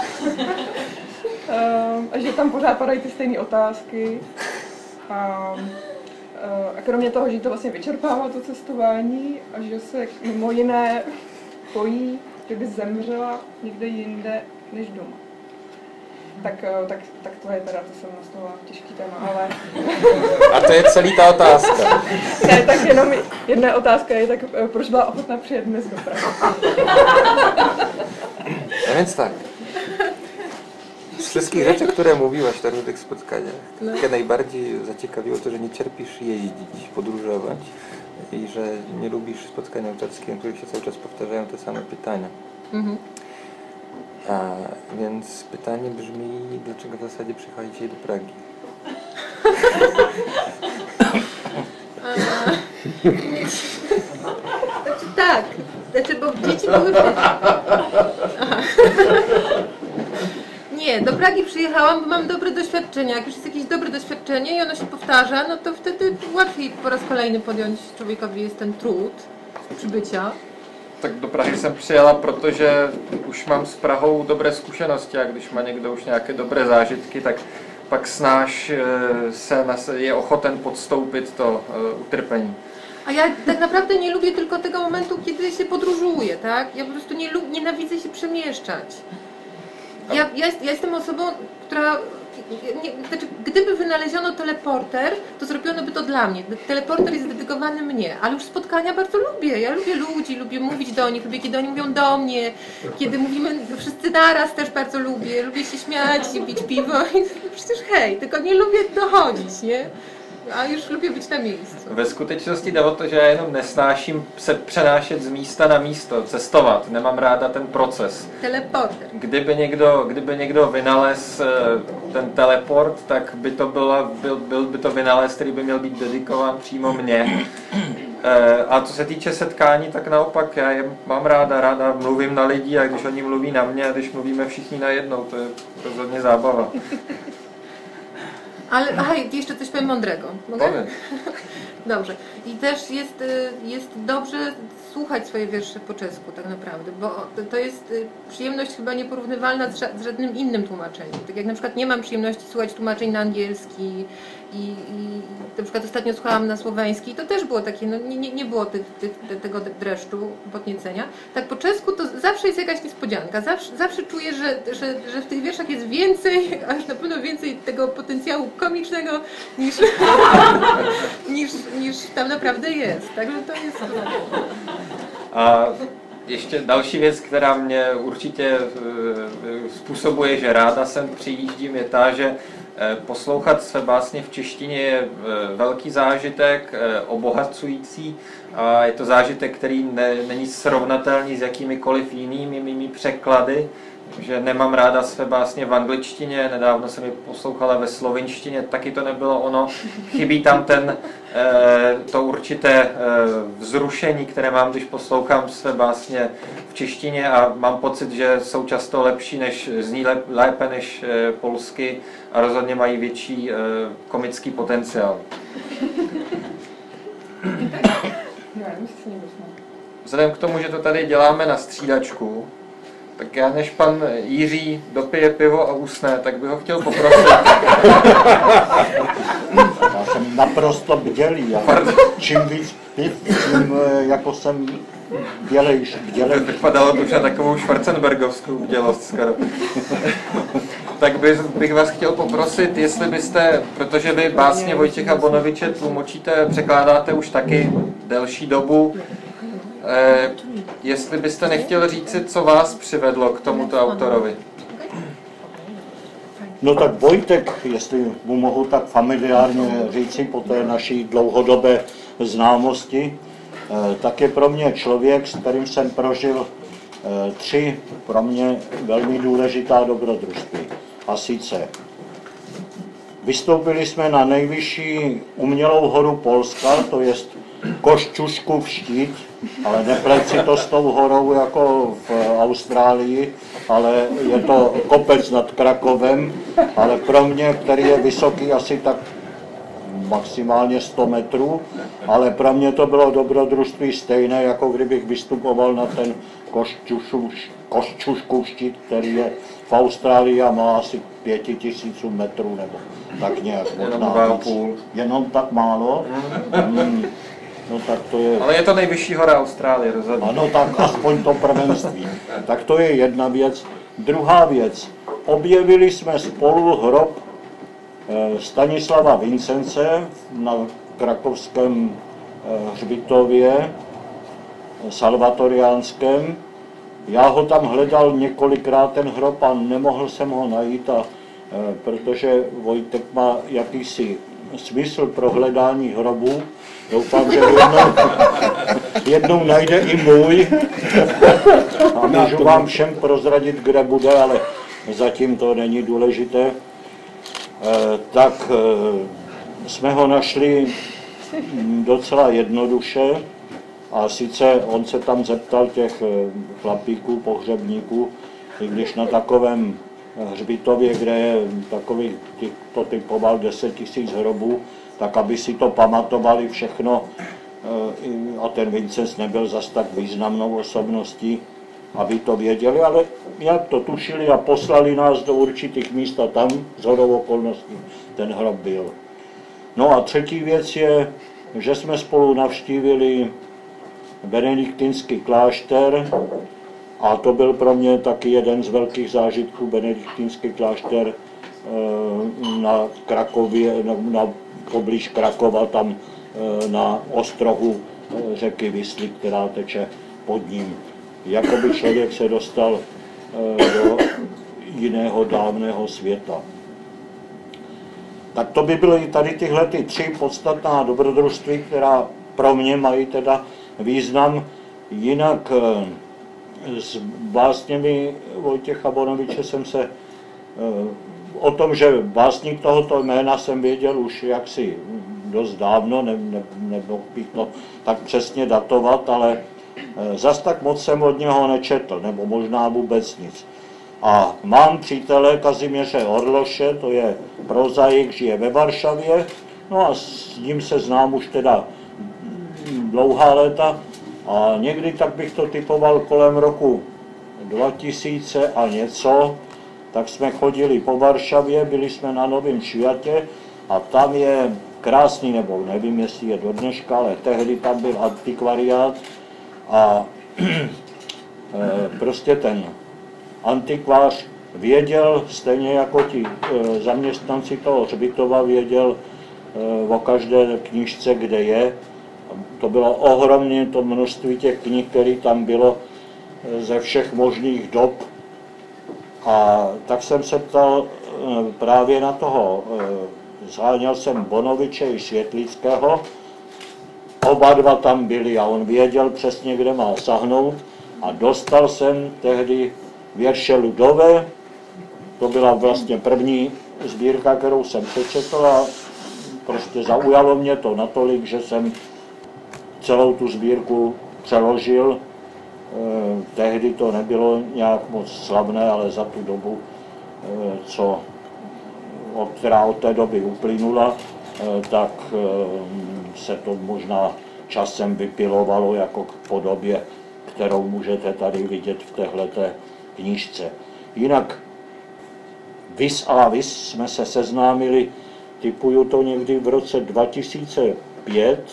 A že tam pořád padají ty stejné otázky. A, a kromě toho, že to vlastně vyčerpává to cestování a že se mimo jiné bojí, že by zemřela někde jinde než doma. Tak, tak, tak to je teda, to jsem nastavila těžký téma, ale... A to je celý ta otázka. Ne, tak jenom jedna otázka je, tak proč byla ochotná přijet dnes do Prahy? A więc tak. Z wszystkich rzeczy, które mówiłaś na różnych spotkaniach, No. mnie najbardziej zaciekawiło to, że nie cierpisz jeździć, podróżować i że nie lubisz spotkań autorskich, w których się cały czas powtarzają te same pytania. Mhm. A więc pytanie brzmi, dlaczego w zasadzie przyjechałeś dzisiaj do Pragi? Znaczy tak, znaczy, bo dzieci były wtedy. Aha. Nie, do Pragi przyjechałam, bo mam dobre doświadczenia. Jak już jest jakieś dobre doświadczenie i ono się powtarza, no to wtedy łatwiej po raz kolejny podjąć człowiekowi jest ten trud przybycia. Tak do Prahy jsem přijela, protože už mám s Prahou dobré zkušenosti a když má někdo už nějaké dobré zážitky, tak pak snáš se je ochoten podstoupit to utrpení. A ja tak naprawdę nie lubię tylko tego momentu, kiedy się podróżuje, tak? Ja po prostu nie lub, nienawidzę się przemieszczać. Ja, ja, jest, ja jestem osobą, która... Nie, znaczy, gdyby wynaleziono teleporter, to zrobiono by to dla mnie. Teleporter jest dedykowany mnie, ale już spotkania bardzo lubię. Ja lubię ludzi, lubię mówić do nich, lubię kiedy oni mówią do mnie, kiedy mówimy wszyscy naraz też bardzo lubię. Lubię się śmiać i pić piwo i przecież hej, tylko nie lubię dochodzić, nie? A już lubię być na miejscu. Ve skutečnosti jde o to, že já jenom nesnáším se přenášet z místa na místo, cestovat. Nemám ráda ten proces. Teleporter. Kdyby někdo, kdyby někdo vynalez ten teleport, tak by to byla, byl, byl by to vynález, který by měl být dedikován přímo mně. A co se týče setkání, tak naopak já je mám ráda, ráda mluvím na lidi a když oni mluví na mě a když mluvíme všichni najednou, to je rozhodně zábava. Ale aha, jeszcze coś powiem mądrego. Mogę? Powiem. Dobrze. I też jest, jest dobrze słuchać swoje wiersze po czesku tak naprawdę, bo to jest przyjemność chyba nieporównywalna z żadnym innym tłumaczeniem. Tak jak na przykład nie mam przyjemności słuchać tłumaczeń na angielski i, i na przykład ostatnio słuchałam na słoweński i to też było takie, no nie, nie było tych, tych, tego dreszczu, podniecenia. Tak po czesku to zawsze jest jakaś niespodzianka, zawsze, zawsze czuję, że, że, że w tych wierszach jest więcej, a już na pewno więcej tego potencjału komicznego niż, niż, niż tam naprawdę jest. Także to jest... A ještě další věc, která mě určitě způsobuje, že ráda sem přijíždím, je ta, že poslouchat své básně v češtině je velký zážitek, obohacující a je to zážitek, který ne, není srovnatelný s jakýmikoliv jinými mými překlady, že nemám ráda své básně v angličtině, nedávno jsem je poslouchala ve slovinštině, taky to nebylo ono. Chybí tam ten, to určité vzrušení, které mám, když poslouchám své básně v češtině a mám pocit, že jsou často lepší, než, zní lépe než polsky a rozhodně mají větší komický potenciál. Vzhledem k tomu, že to tady děláme na střídačku, tak já než pan Jiří dopije pivo a usne, tak bych ho chtěl poprosit. Já jsem naprosto bdělý. Čím víc piv, tím jako jsem bdělejší. bdělejší. Vypadalo to už na takovou schwarzenbergovskou bdělost skoro. Tak bych, bych vás chtěl poprosit, jestli byste, protože vy básně Vojtěcha Bonoviče tlumočíte, překládáte už taky delší dobu, Eh, jestli byste nechtěl říci, co vás přivedlo k tomuto autorovi? No tak Vojtek, jestli mu mohu tak familiárně říci po té naší dlouhodobé známosti, eh, tak je pro mě člověk, s kterým jsem prožil eh, tři pro mě velmi důležitá dobrodružství. A sice vystoupili jsme na nejvyšší umělou horu Polska, to jest Košťuškův štít, ale nepleť si to s tou horou jako v Austrálii, ale je to kopec nad Krakovem, ale pro mě, který je vysoký asi tak maximálně sto metrů, ale pro mě to bylo dobrodružství stejné, jako kdybych vystupoval na ten Košťuškův štít, který je v Austrálii a má asi pěti tisíců metrů nebo tak nějak. Jenom půl. Jenom tak málo? Hmm. No tak to je... Ale je to nejvyšší hora Austrálie, rozhodně. Ano, tak aspoň to prvenství. Tak to je jedna věc. Druhá věc. Objevili jsme spolu hrob Stanislava Vincence na krakovském hřbitově salvatoriánském. Já ho tam hledal několikrát, ten hrob, a nemohl jsem ho najít, a, protože Vojtek má jakýsi smysl pro hledání hrobů. Doufám, že jednou, jednou najde i můj a můžu vám všem prozradit, kde bude, ale zatím to není důležité. E, tak e, jsme ho našli docela jednoduše, a sice on se tam zeptal těch chlapíků, pohřebníků, i když na takovém hřbitově, kde je takový, to typoval deset tisíc hrobů, tak aby si to pamatovali všechno, a ten Vincenc nebyl zas tak významnou osobností, aby to věděli, ale jak to tušili a poslali nás do určitých míst a tam shodou okolností ten hrob byl. No a třetí věc je, že jsme spolu navštívili benediktinský klášter, a to byl pro mě taky jeden z velkých zážitků, benediktinský klášter na Krakově, na, na poblíž Krakova, tam na ostrohu řeky Visly, která teče pod ním. Jakoby člověk se dostal do jiného dávného světa. Tak to by byly tady tyhle ty tři podstatná dobrodružství, která pro mě mají teda význam. Jinak s básněmi Vojtěcha Bonoviče jsem se o tom, že básník tohoto jména jsem věděl už jaksi dost dávno, ne, ne, nemohl bych to tak přesně datovat, ale zas tak moc jsem od něho nečetl, nebo možná vůbec nic. A mám přítele Kazimieře Orloše, to je prozaik, žije ve Varšavě, no a s ním se znám už teda dlouhá léta, a někdy tak bych to typoval kolem roku dva tisíce a něco, tak jsme chodili po Varšavě, byli jsme na Novém Světě a tam je krásný, nebo nevím, jestli je do dneška, ale tehdy tam byl antikvariát a prostě ten antikvář věděl, stejně jako ti zaměstnanci toho hřbitova, věděl o každé knížce, kde je. To bylo ohromné to množství těch knih, které tam bylo ze všech možných dob. A tak jsem se ptal právě na toho, zháněl jsem Bonoviče i Světlického, oba dva tam byli a on věděl přesně, kde má sahnout, a dostal jsem tehdy věrše Ludové, to byla vlastně první sbírka, kterou jsem přečetl, a prostě zaujalo mě to natolik, že jsem celou tu sbírku přeložil. Tehdy to nebylo nějak moc slavné, ale za tu dobu, co, která od té doby uplynula, tak se to možná časem vypilovalo jako k podobě, kterou můžete tady vidět v téhleté knížce. Jinak vis a vis jsme se seznámili, tipuju to někdy v roce dva tisíce pět,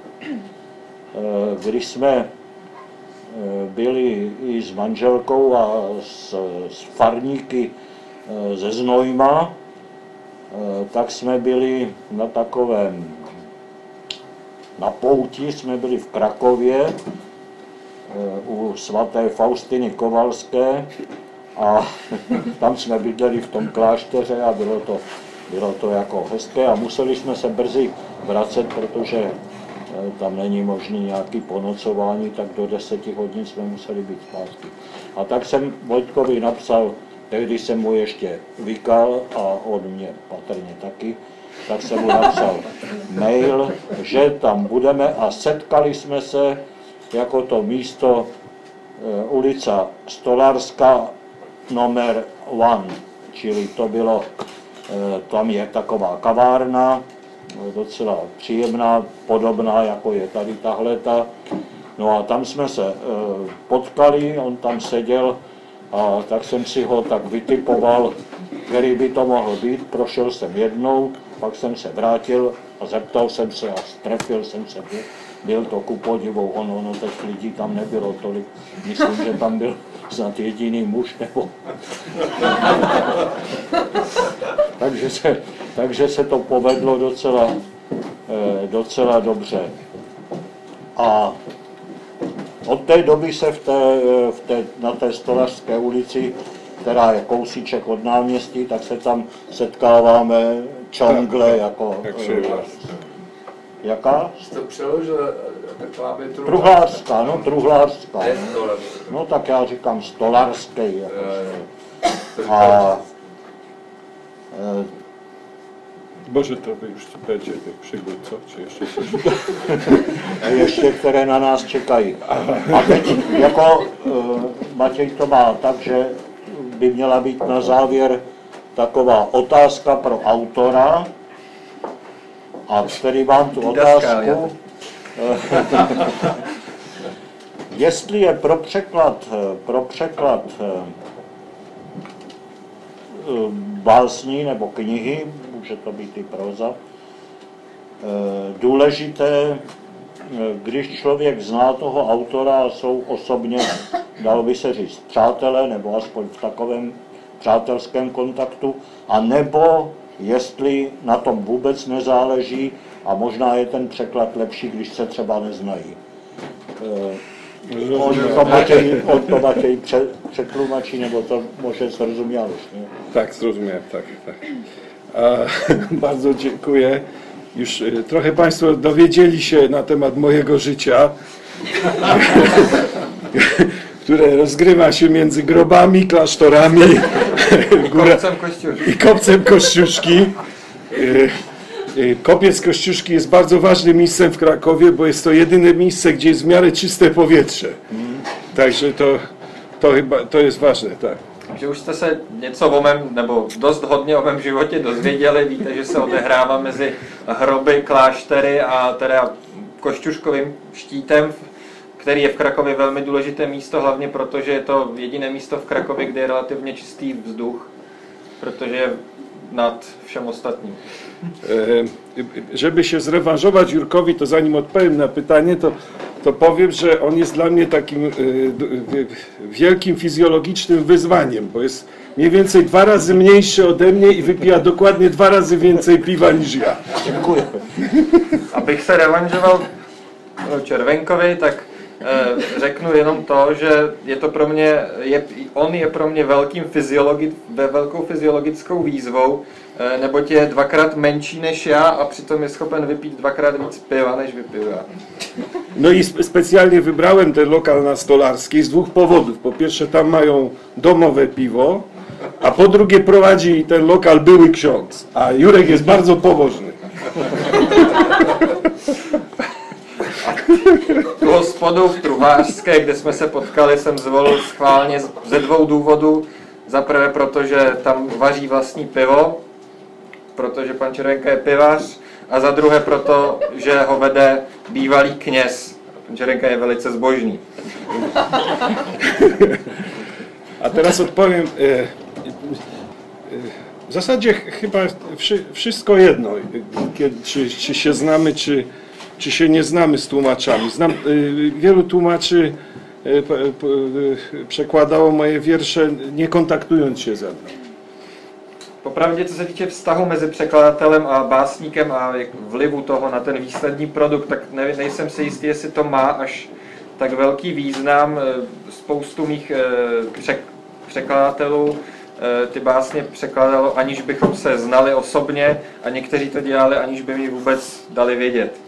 když jsme byli i s manželkou a s, s farníky ze Znojma, tak jsme byli na takovém, na pouti, jsme byli v Krakově u svaté Faustiny Kovalské a tam jsme bydleli v tom klášteře a bylo to, bylo to jako hezké a museli jsme se brzy vracet, protože tam není možný nějaký ponocování, tak do deseti hodin jsme museli být zpátky. A tak jsem Vojtkovi napsal tehdy jsem mu ještě vykal a on mě patrně taky, tak jsem mu napsal mail, že tam budeme a setkali jsme se jako to místo e, ulica Stolarská nomer one, čili to bylo, e, tam je taková kavárna, docela příjemná, podobná jako je tady tahleta. No a tam jsme se e, potkali, on tam seděl a tak jsem si ho tak vytipoval, který by to mohl být. Prošel jsem jednou, pak jsem se vrátil a zeptal jsem se a strefil jsem se. Byl to ku podivu, ono, ono těch lidí tam nebylo tolik. Myslím, že tam byl snad jediný muž nebo... takže, se, takže se to povedlo docela, eh, docela dobře. A od té doby se v té, v té, na té Stolařské ulici, která je kousíček od náměstí, tak se tam setkáváme čangle jako... Jaká? Jste přeložil taková by Truhlářská, no truhlářská. No tak já říkám stolarský. Jako. A... Bože, to by už będzie těch přigód, co? Czy ještě coś? Ještě, které na nás čekají. A teď, jako uh, Matěj to má tak, že by měla být na závěr taková otázka pro autora, a který vám tu otázku, jestli je pro překlad, pro překlad básní nebo knihy, může to být i próza, důležité, když člověk zná toho autora a jsou osobně, dalo by se říct, přátelé, nebo aspoň v takovém přátelském kontaktu, a nebo jestli na tom vůbec nezáleží a možná je ten překlad lepší, když se třeba neznají. On to Matěj, on to Matěj pře, přetlumačí, nebo to może zrozumiałeś, nie? Tak, zrozumiałem, tak, tak. A, bardzo dziękuję. Już trochę Państwo dowiedzieli się na temat mojego życia, które rozgrywa się między grobami, klasztorami góra, i kopcem Kościuszki. Kopiec Kościuszki jest bardzo ważnym miejscem w Krakowie, bo jest to jedyne miejsce, gdzie jest w miarę czyste powietrze. Takže to, to chyba to jest ważne, tak. Že už jste se něco o mém, nebo dost hodně o mém životě dozvěděli, víte, že se odehrává mezi hroby, kláštery a teda Košťuškovým štítem, který je v Krakově velmi důležité místo, hlavně protože je to jediné místo v Krakově, kde je relativně čistý vzduch, protože je nad všem ostatním. Żeby się zrewanżować Jurkowi, to zanim odpowiem na pytanie, to, to powiem, że on jest dla mnie takim wielkim fizjologicznym wyzwaniem, bo jest mniej więcej dwa razy mniejszy ode mnie i wypija dokładnie dwa razy więcej piwa niż ja. Dziękuję. Abych se revanžoval Červenkovi, tak e, řeknu jenom to, že je to pro mě, je, on je pro mě velkým fyziologi, ve velkou fyziologickou výzvou, e, neboť je dvakrát menší než já a přitom je schopen vypít dvakrát víc piva, než vypiju já. No i specjalnie wybrałem ten lokal na Stolarskiej z dwóch powodów. Po pierwsze, tam mają domowe piwo, a po drugie prowadzi ten lokal były ksiądz, a Jurek jest bardzo pobożny. Tu hospodu v Truhlářské, kde jsme se potkali, jsem zvolil schválně ze dvou důvodů. Za prvé, protože tam vaří vlastní pivo, protože pan Červenka je pivař, a za druhé proto, že ho vede bývalý kněz. Pan Červenka je velice zbožný. A teraz odpowiem. W zasadzie chyba wszystko jedno, czy, czy się znamy, czy, czy się nie znamy z tłumaczami. Znam, wielu tłumaczy przekładało moje wiersze, nie kontaktując się ze mną. Popravdě, co se týče vztahu mezi překladatelem a básníkem a vlivu toho na ten výsledný produkt, tak ne, nejsem si jistý, jestli to má až tak velký význam. Spoustu mých překladatelů ty básně překladalo, aniž bychom se znali osobně, a někteří to dělali, aniž by mi vůbec dali vědět.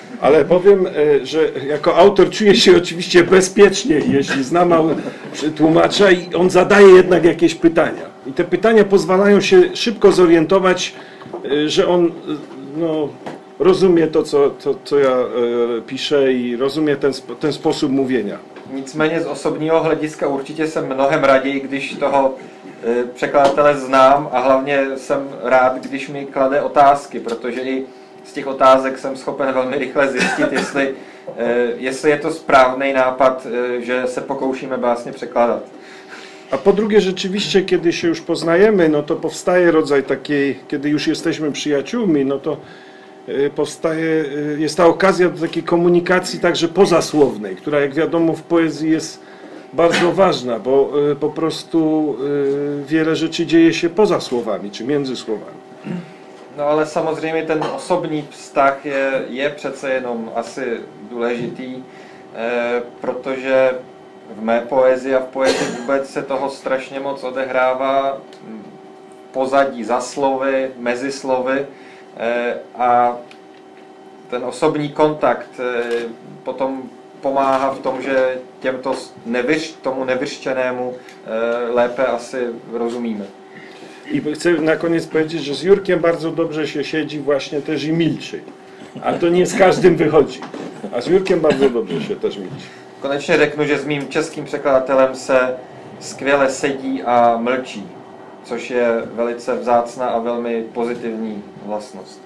Ale powiem, że jako autor czuję się oczywiście bezpiecznie, jeśli znam tłumacza i on zadaje jednak jakieś pytania. I te pytania pozwalają się szybko zorientować, że on no, rozumie to, co, to, co ja piszę i rozumie ten, ten sposób mówienia. Nicméně z osobního hlediska určitě jsem mnohem raději, když toho překladatele znám a hlavně jsem rád, když mi klade otázky, protože i z těch otázek jsem schopen velmi rychle zjistit, jestli, jestli je to správný nápad, že se pokoušíme básně překládat. A po drugie, rzeczywiście, kiedy się już poznajemy, no to powstaje rodzaj takiej, kiedy już jesteśmy przyjaciółmi, no to powstaje, jest ta okazja do takiej komunikacji także pozasłownej, która jak wiadomo w poezji jest bardzo ważna, bo po prostu wiele rzeczy dzieje się poza słowami, czy między słowami. No ale samozřejmě ten osobní vztah je, je přece jenom asi důležitý, eh, protože v mé poezii a v poezii vůbec se toho strašně moc odehrává v pozadí, za slovy, mezi slovy eh, a ten osobní kontakt eh, potom pomáhá v tom, že těmto nevyř, tomu nevyřčenému eh, lépe asi rozumíme. I chcę na koniec powiedzieć, że z Jurkiem bardzo dobrze się siedzi właśnie też i milczy. A to nie z każdym wychodzi. A z Jurkiem bardzo dobrze się też milczy. Konečně řeknu, že s mým českým překladatelem se skvěle sedí a mlčí, což je velice vzácná a velmi pozitivní vlastnost.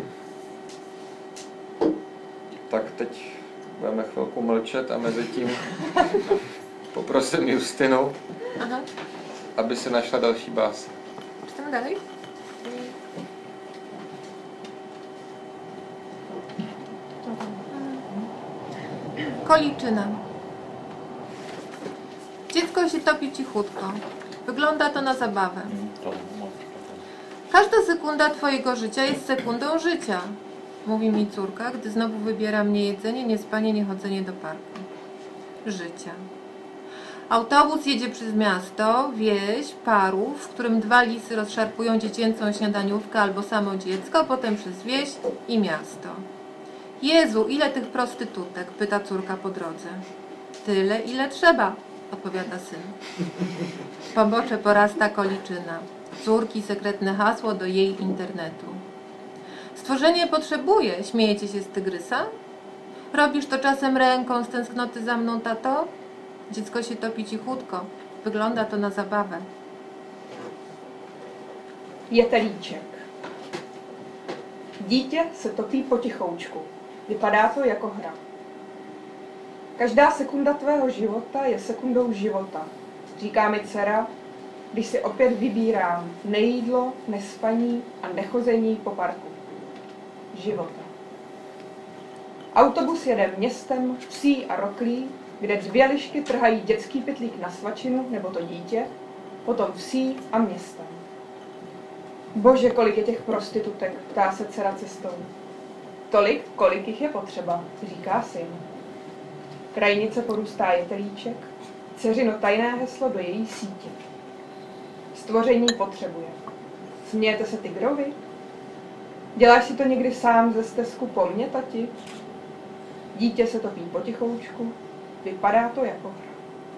Tak teď budeme chvilku mlčet a mezi tím poprosím Justinu, Aha. aby si našla další básně. Czytamy dalej? Koliczyna. Dziecko się topi cichutko. Wygląda to na zabawę. Każda sekunda twojego życia jest sekundą życia, mówi mi córka, gdy znowu wybiera mnie jedzenie, niespanie, niechodzenie do parku. Życia. Autobus jedzie przez miasto, wieś, parów, w którym dwa lisy rozszarpują dziecięcą śniadaniówkę albo samo dziecko, potem przez wieś i miasto. Jezu, ile tych prostytutek? Pyta córka po drodze. Tyle, ile trzeba, odpowiada syn. Pobocze porasta koliczyna. Córki sekretne hasło do jej internetu. Stworzenie potrzebuje, śmiejecie się z tygrysa? Robisz to czasem ręką z tęsknoty za mną, tato? Dziecko się topi cichutko. Wygląda to na zabawę. Jetelíček. Dítě se topí potichoučku. Vypadá to jako hra. Každá sekunda tvého života je sekundou života. Říká mi dcera, když si opět vybírám nejídlo, nespaní a nechození po parku. Života. Autobus jede městem, vsí a roklí, kde dvě lišky trhají dětský pytlík na svačinu nebo to dítě, potom vsí a městem. Bože, kolik je těch prostitutek, ptá se dcera cestou. Tolik, kolik jich je potřeba, říká syn. Krajnice porůstá jetelíček, dceřino tajné heslo do její sítě. Stvoření potřebuje. Smějete se tygrovi? Děláš si to někdy sám ze stezku po mně, tati? Dítě se topí potichoučku, vypadá to jako hra.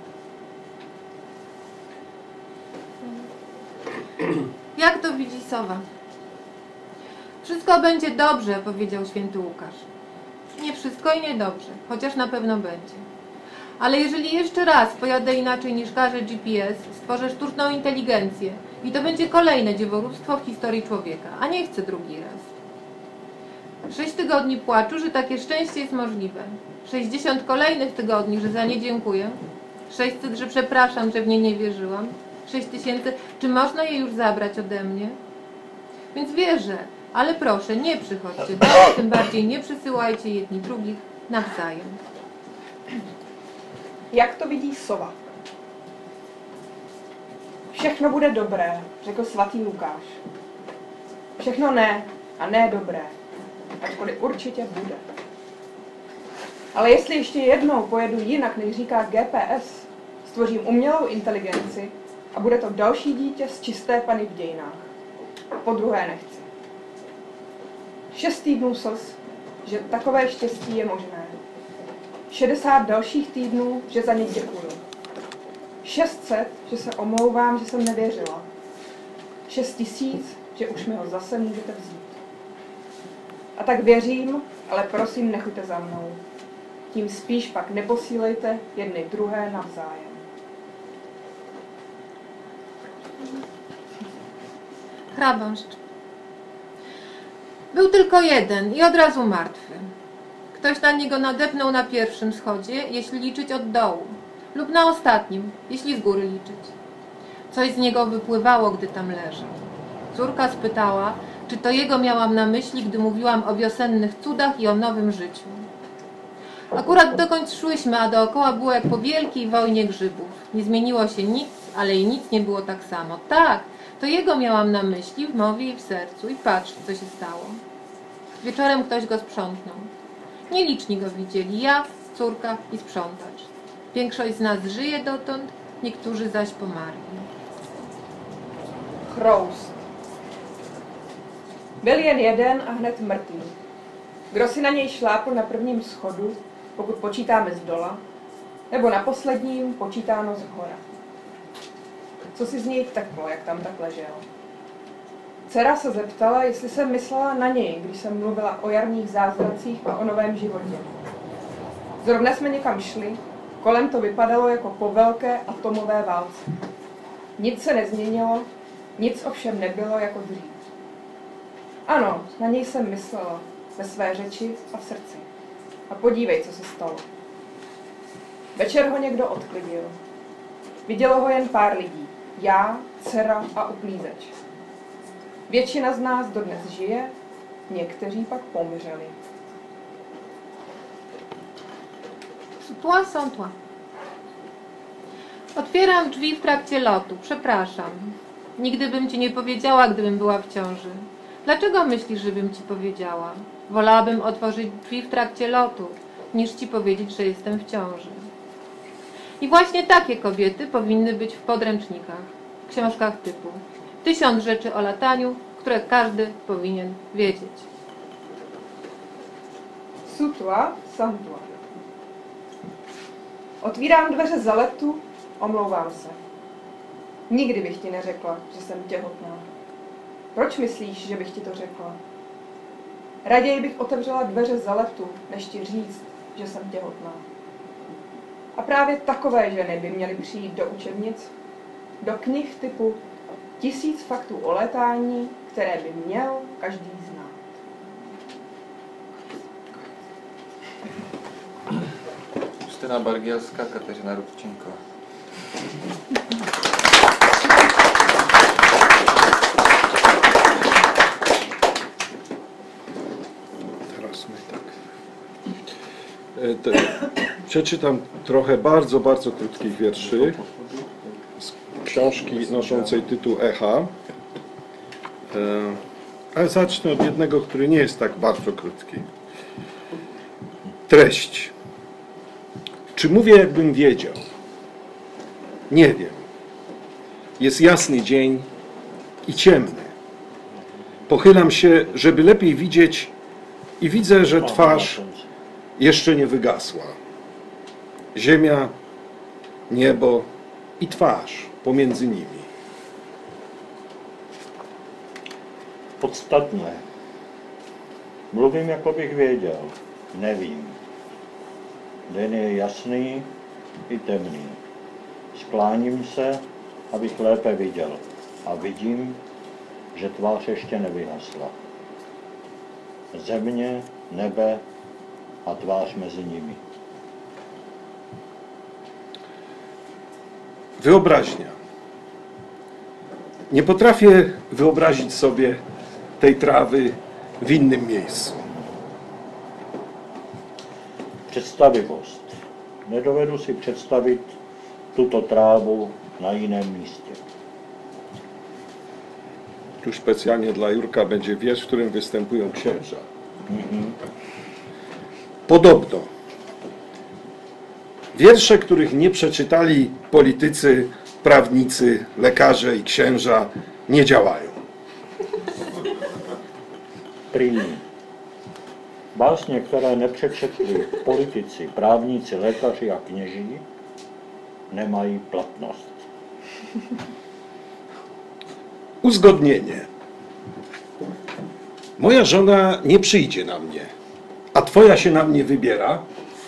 Jak to widzi sowa? Wszystko będzie dobrze, powiedział święty Łukasz. Nie wszystko i nie dobrze, chociaż na pewno będzie. Ale jeżeli jeszcze raz pojadę inaczej niż każe G P S, stworzę sztuczną inteligencję i to będzie kolejne dziewolództwo w historii człowieka, a nie chcę drugi raz. Sześć tygodni płaczu, że takie szczęście jest możliwe. Sześćdziesiąt kolejnych tygodni, że za nie dziękuję. Sześćset, że przepraszam, że w nie nie wierzyłam. Sześć tysięcy, czy można je już zabrać ode mnie? Więc wierzę, ale proszę, nie przychodźcie do mnie, tym bardziej nie przysyłajcie jedni drugich nawzajem. Jak to vidí sova? Všechno bude dobré, řekl svatý Lukáš. Všechno ne a ne dobré, ačkoliv určitě bude. Ale jestli ještě jednou pojedu jinak, než říká G P S, stvořím umělou inteligenci a bude to další dítě z čisté Panny v dějinách. Po druhé nechci. Šest týdnů slz, že takové štěstí je možné. šedesát dalších týdnů, že za ně děkuju. šest set, že se omlouvám, že jsem nevěřila. šest tisíc, že už mi ho zase můžete vzít. A tak věřím, ale prosím, nechoďte za mnou. Tím spíš pak neposílejte jedny druhé navzájem. Hrabašcz. Był tylko jeden i od razu martwy. Ktoś na niego nadepnął na pierwszym schodzie, jeśli liczyć od dołu, lub na ostatnim, jeśli z góry liczyć. Coś z niego wypływało, gdy tam leżał. Córka spytała, czy to jego miałam na myśli, gdy mówiłam o wiosennych cudach i o nowym życiu. Akurat dokąd szłyśmy, a dookoła było jak po wielkiej wojnie grzybów. Nie zmieniło się nic, ale i nic nie było tak samo. Tak, to jego miałam na myśli w mowie i w sercu. I patrz, co się stało. Wieczorem ktoś go sprzątnął. Nieliczni go widzieli, ja, córka i sprzątacz. Większość z nas żyje dotąd, niektórzy zaś pomarli. Chroust. Byl jen jeden a hned mrtvý. Kdo si na něj šlápl na prvním schodu, pokud počítáme z dola, nebo na posledním počítáno z hora. Co si z něj vteklo, jak tam tak ležel? Dcera se zeptala, jestli jsem myslela na něj, když jsem mluvila o jarních zázracích a o novém životě. Zrovna jsme někam šli, kolem to vypadalo jako po velké atomové válce. Nic se nezměnilo, nic ovšem nebylo jako dřív. Ano, na něj jsem myslela, ve své řeči a v srdci. A podívej, co se stalo. Večer ho někdo odklidil. Vidělo ho jen pár lidí. Já, dcera a uklízeč. Většina z nás dodnes žije, někteří pak pomřeli. Tła są tła. Otwieram drzwi w trakcie lotu. Przepraszam. Nigdy bym ci nie powiedziała, gdybym była w ciąży. Dlaczego myślisz, żebym ci powiedziała? Wolałabym otworzyć drzwi w trakcie lotu, niż ci powiedzieć, że jestem w ciąży. I właśnie takie kobiety powinny być w podręcznikach, książkach typu Tysiąc rzeczy o lataniu, które każdy powinien wiedzieć. Sutła, santła. Otvírám dveře za letu, omlouvám se. Nikdy bych ti neřekla, že jsem těhotná. Proč myslíš, že bych ti to řekla? Raději bych otevřela dveře za letu, než ti říct, že jsem těhotná. A právě takové ženy by měly přijít do učebnic, do knih typu Tisíc faktů o létání, které by měl každý znát. Justyna Bargielska, Kateřina Rubčenková. Teraz my tak. Te, przeczytam trochę bardzo, bardzo krótkich wierszy z książki noszącej tytuł Echa. Ale zacznę od jednego, który nie jest tak bardzo krótki. Treść. Czy mówię, jakbym wiedział? Nie wiem. Jest jasny dzień i ciemny. Pochylam się, żeby lepiej widzieć i widzę, że twarz jeszcze nie wygasła. Ziemia, niebo i twarz pomiędzy nimi. Podstatné. Mluvím, jako bych věděl. Nevím. Den je jasný i temný. Skláním se, abych lépe viděl. A vidím, že tvář ještě nevyhasla. Země, nebe a tvář mezi nimi. Wyobraźnia. Nie potrafię wyobrazić sobie tej trawy w innym miejscu. Představivost. Nedovedu si představit tuto trávu na jiném místě. Tu specjalnie dla Jurka będzie wiersz, w którym występują księża. Mhm. Podobno. Wiersze, których nie przeczytali politycy, prawnicy, lekarze i księża, nie działają. První. Básně, které nepřečetli politici, právníci, lékaři a kněží, nemají platnost. Uzgodnienie. Moja żona nie przyjdzie na mnie, a twoja się na mnie wybiera.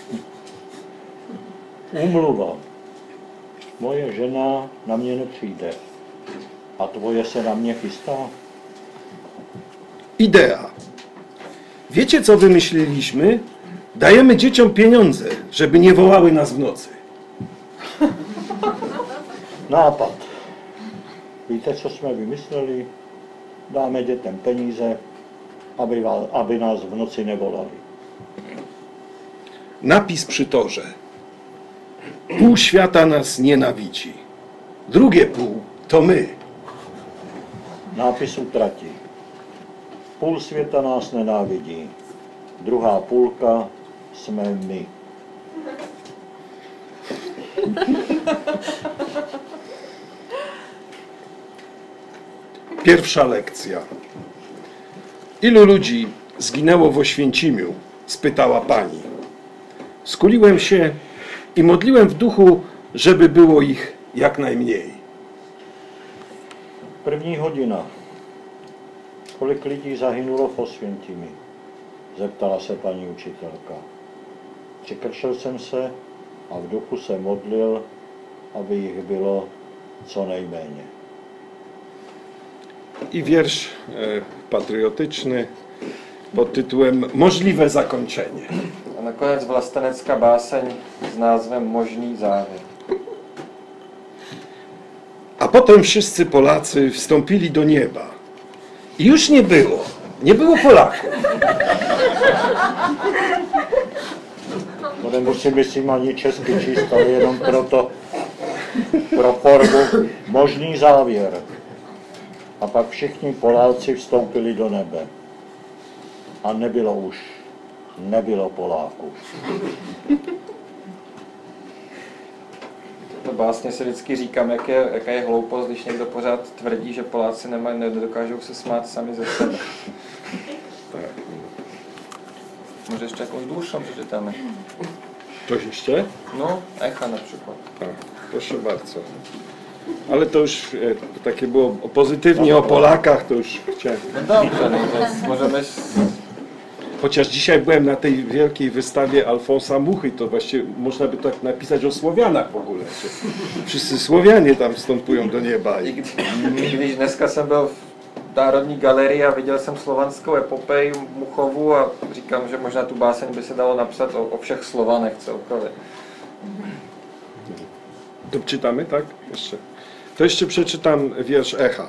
Úmluva. Moje žena na mě nepřijde. A tvoje se na mě chystá? Idea. Wiecie, co wymyśliliśmy? Dajemy dzieciom pieniądze, żeby nie wołały nas w nocy. Nápad. Víte, co jsme vymysleli? Dáme dětem peníze, aby, vás, aby nás v noci nevolali. Napis przy torze. Pół świata nas nienawidzi. Drugie pół to my. Nápis u trati. Půl světa nás nenávidí. Druhá půlka jsme my. Pierwsza lekcja. Ilu ludzi zginęło w Oświęcimiu? Spytała pani. Skuliłem się i modliłem w duchu, żeby było ich jak najmniej. První hodina. Kolik lidí zahynulo v Osvětimi? Zeptala se paní učitelka. Přikrčil jsem se a v duchu se modlil, aby jich bylo co nejméně. I wiersz e, patriotyczny pod tytułem Możliwe zakończenie. A nakonec vlastenecká báseň s názvem Možný závěr. A potem wszyscy Polacy wstąpili do nieba. I już nie było. Nie było Polaków. To nemusím, myslím, ani česky číst, ale jenom proto, pro formu možný závěr. A pak všichni Poláci vstoupili do nebe. A nebylo už, nebylo Poláků. To básně si vždycky říkám, jak je, jaká je hloupost, když někdo pořád tvrdí, že Poláci nemají, nedokážou se smát sami ze sebe. Może jeszcze jakąś dłuższą przeczytamy. Coś jeszcze? No, Echa na przykład. Tak, proszę bardzo. Ale to już e, takie było pozytywnie o Polakach, to już chciałem. No dobrze, no to możemy... Chociaż dzisiaj byłem na tej wielkiej wystawie Alfonsa Muchy, to właściwie można by tak napisać o Słowianach w ogóle. Że wszyscy Słowianie tam wstępują do nieba. I... Když dneska jsem byl v Národní galerii a viděl jsem slovanskou epopeji Muchovu a říkám, že možná tu báseň by se dalo napsat o, o všech Slovanech celkově. To czytamy, tak? Jeszcze. To jeszcze przeczytam wiersz Echa.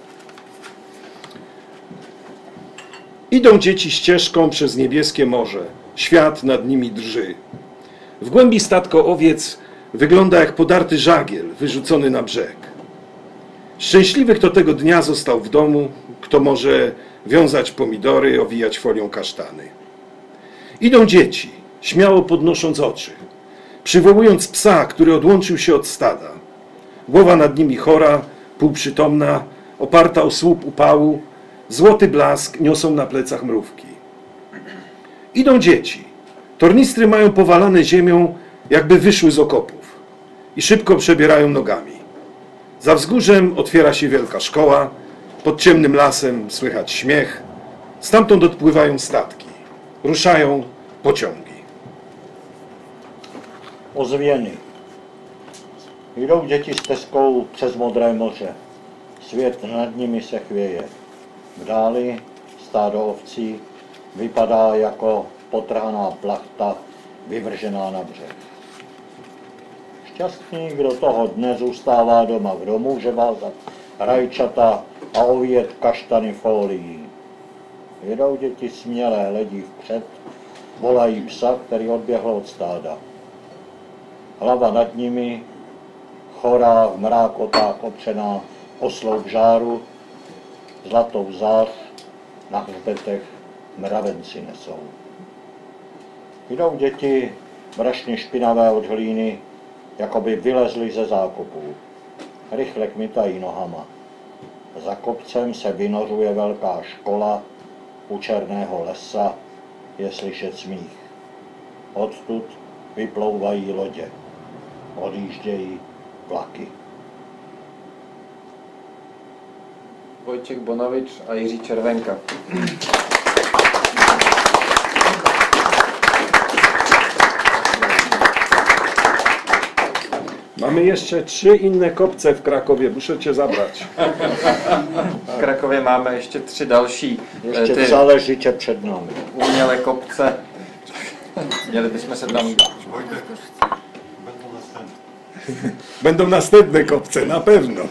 Idą dzieci ścieżką przez niebieskie morze. Świat nad nimi drży. W głębi statko owiec wygląda jak podarty żagiel wyrzucony na brzeg. Szczęśliwy, kto tego dnia został w domu, kto może wiązać pomidory, owijać folią kasztany. Idą dzieci, śmiało podnosząc oczy, przywołując psa, który odłączył się od stada. Głowa nad nimi chora, półprzytomna, oparta o słup upału, złoty blask niosą na plecach mrówki. Idą dzieci. Tornistry mają powalane ziemią, jakby wyszły z okopów i szybko przebierają nogami. Za wzgórzem otwiera się wielka szkoła, pod ciemnym lasem słychać śmiech, stamtąd odpływają statki, ruszają pociągi. Ozvěny. Jdou děti stezkou přes modré moře. Svět nad nimi se chvěje. V dáli stádo ovcí vypadá jako potrhaná plachta vyvržená na břeh. Šťastný, kdo toho dne zůstává doma, kdo může vázat rajčata a ovíjet kaštany fólií. Jedou děti smělé, hledí vpřed, volají psa, který odběhl od stáda. Hlava nad nimi, chorá v mrákotách opřená o sloup žáru, zlatou zář na hřbetech mravenci nesou. Jdou děti brašně špinavé od hlíny, jako by vylezli ze zákopů. Rychle kmitají nohama. Za kopcem se vynořuje velká škola u černého lesa, je slyšet smích. Odtud vyplouvají lodě, odjíždějí vlaky. Vojtěch Bonavič a Jiří Červenka. Mamy jeszcze trzy inne kopce w Krakowie, muszę cię zabrać. V Krakově máme ještě tři další Ještě ty celé žitě před námi. umělé kopce. Měli bychom se tam... Będą następne kopce, na pewno.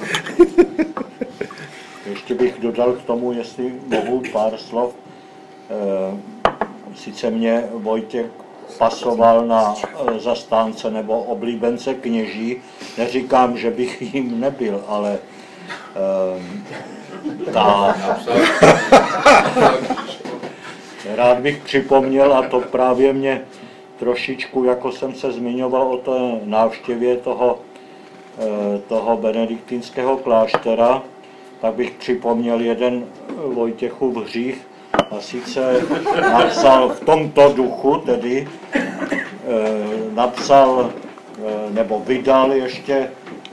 Ještě bych dodal k tomu, jestli mohu pár slov. E, sice mě Vojtěch pasoval na e, zastánce nebo oblíbence kněží. Neříkám, že bych jim nebyl, ale e, ta... Rád bych připomněl, a to právě mě trošičku, jako jsem se zmiňoval o té návštěvě toho, e, toho benediktinského kláštera, tak bych připomněl jeden Vojtěchův hřích, a sice napsal v tomto duchu, tedy e, napsal e, nebo vydal ještě e,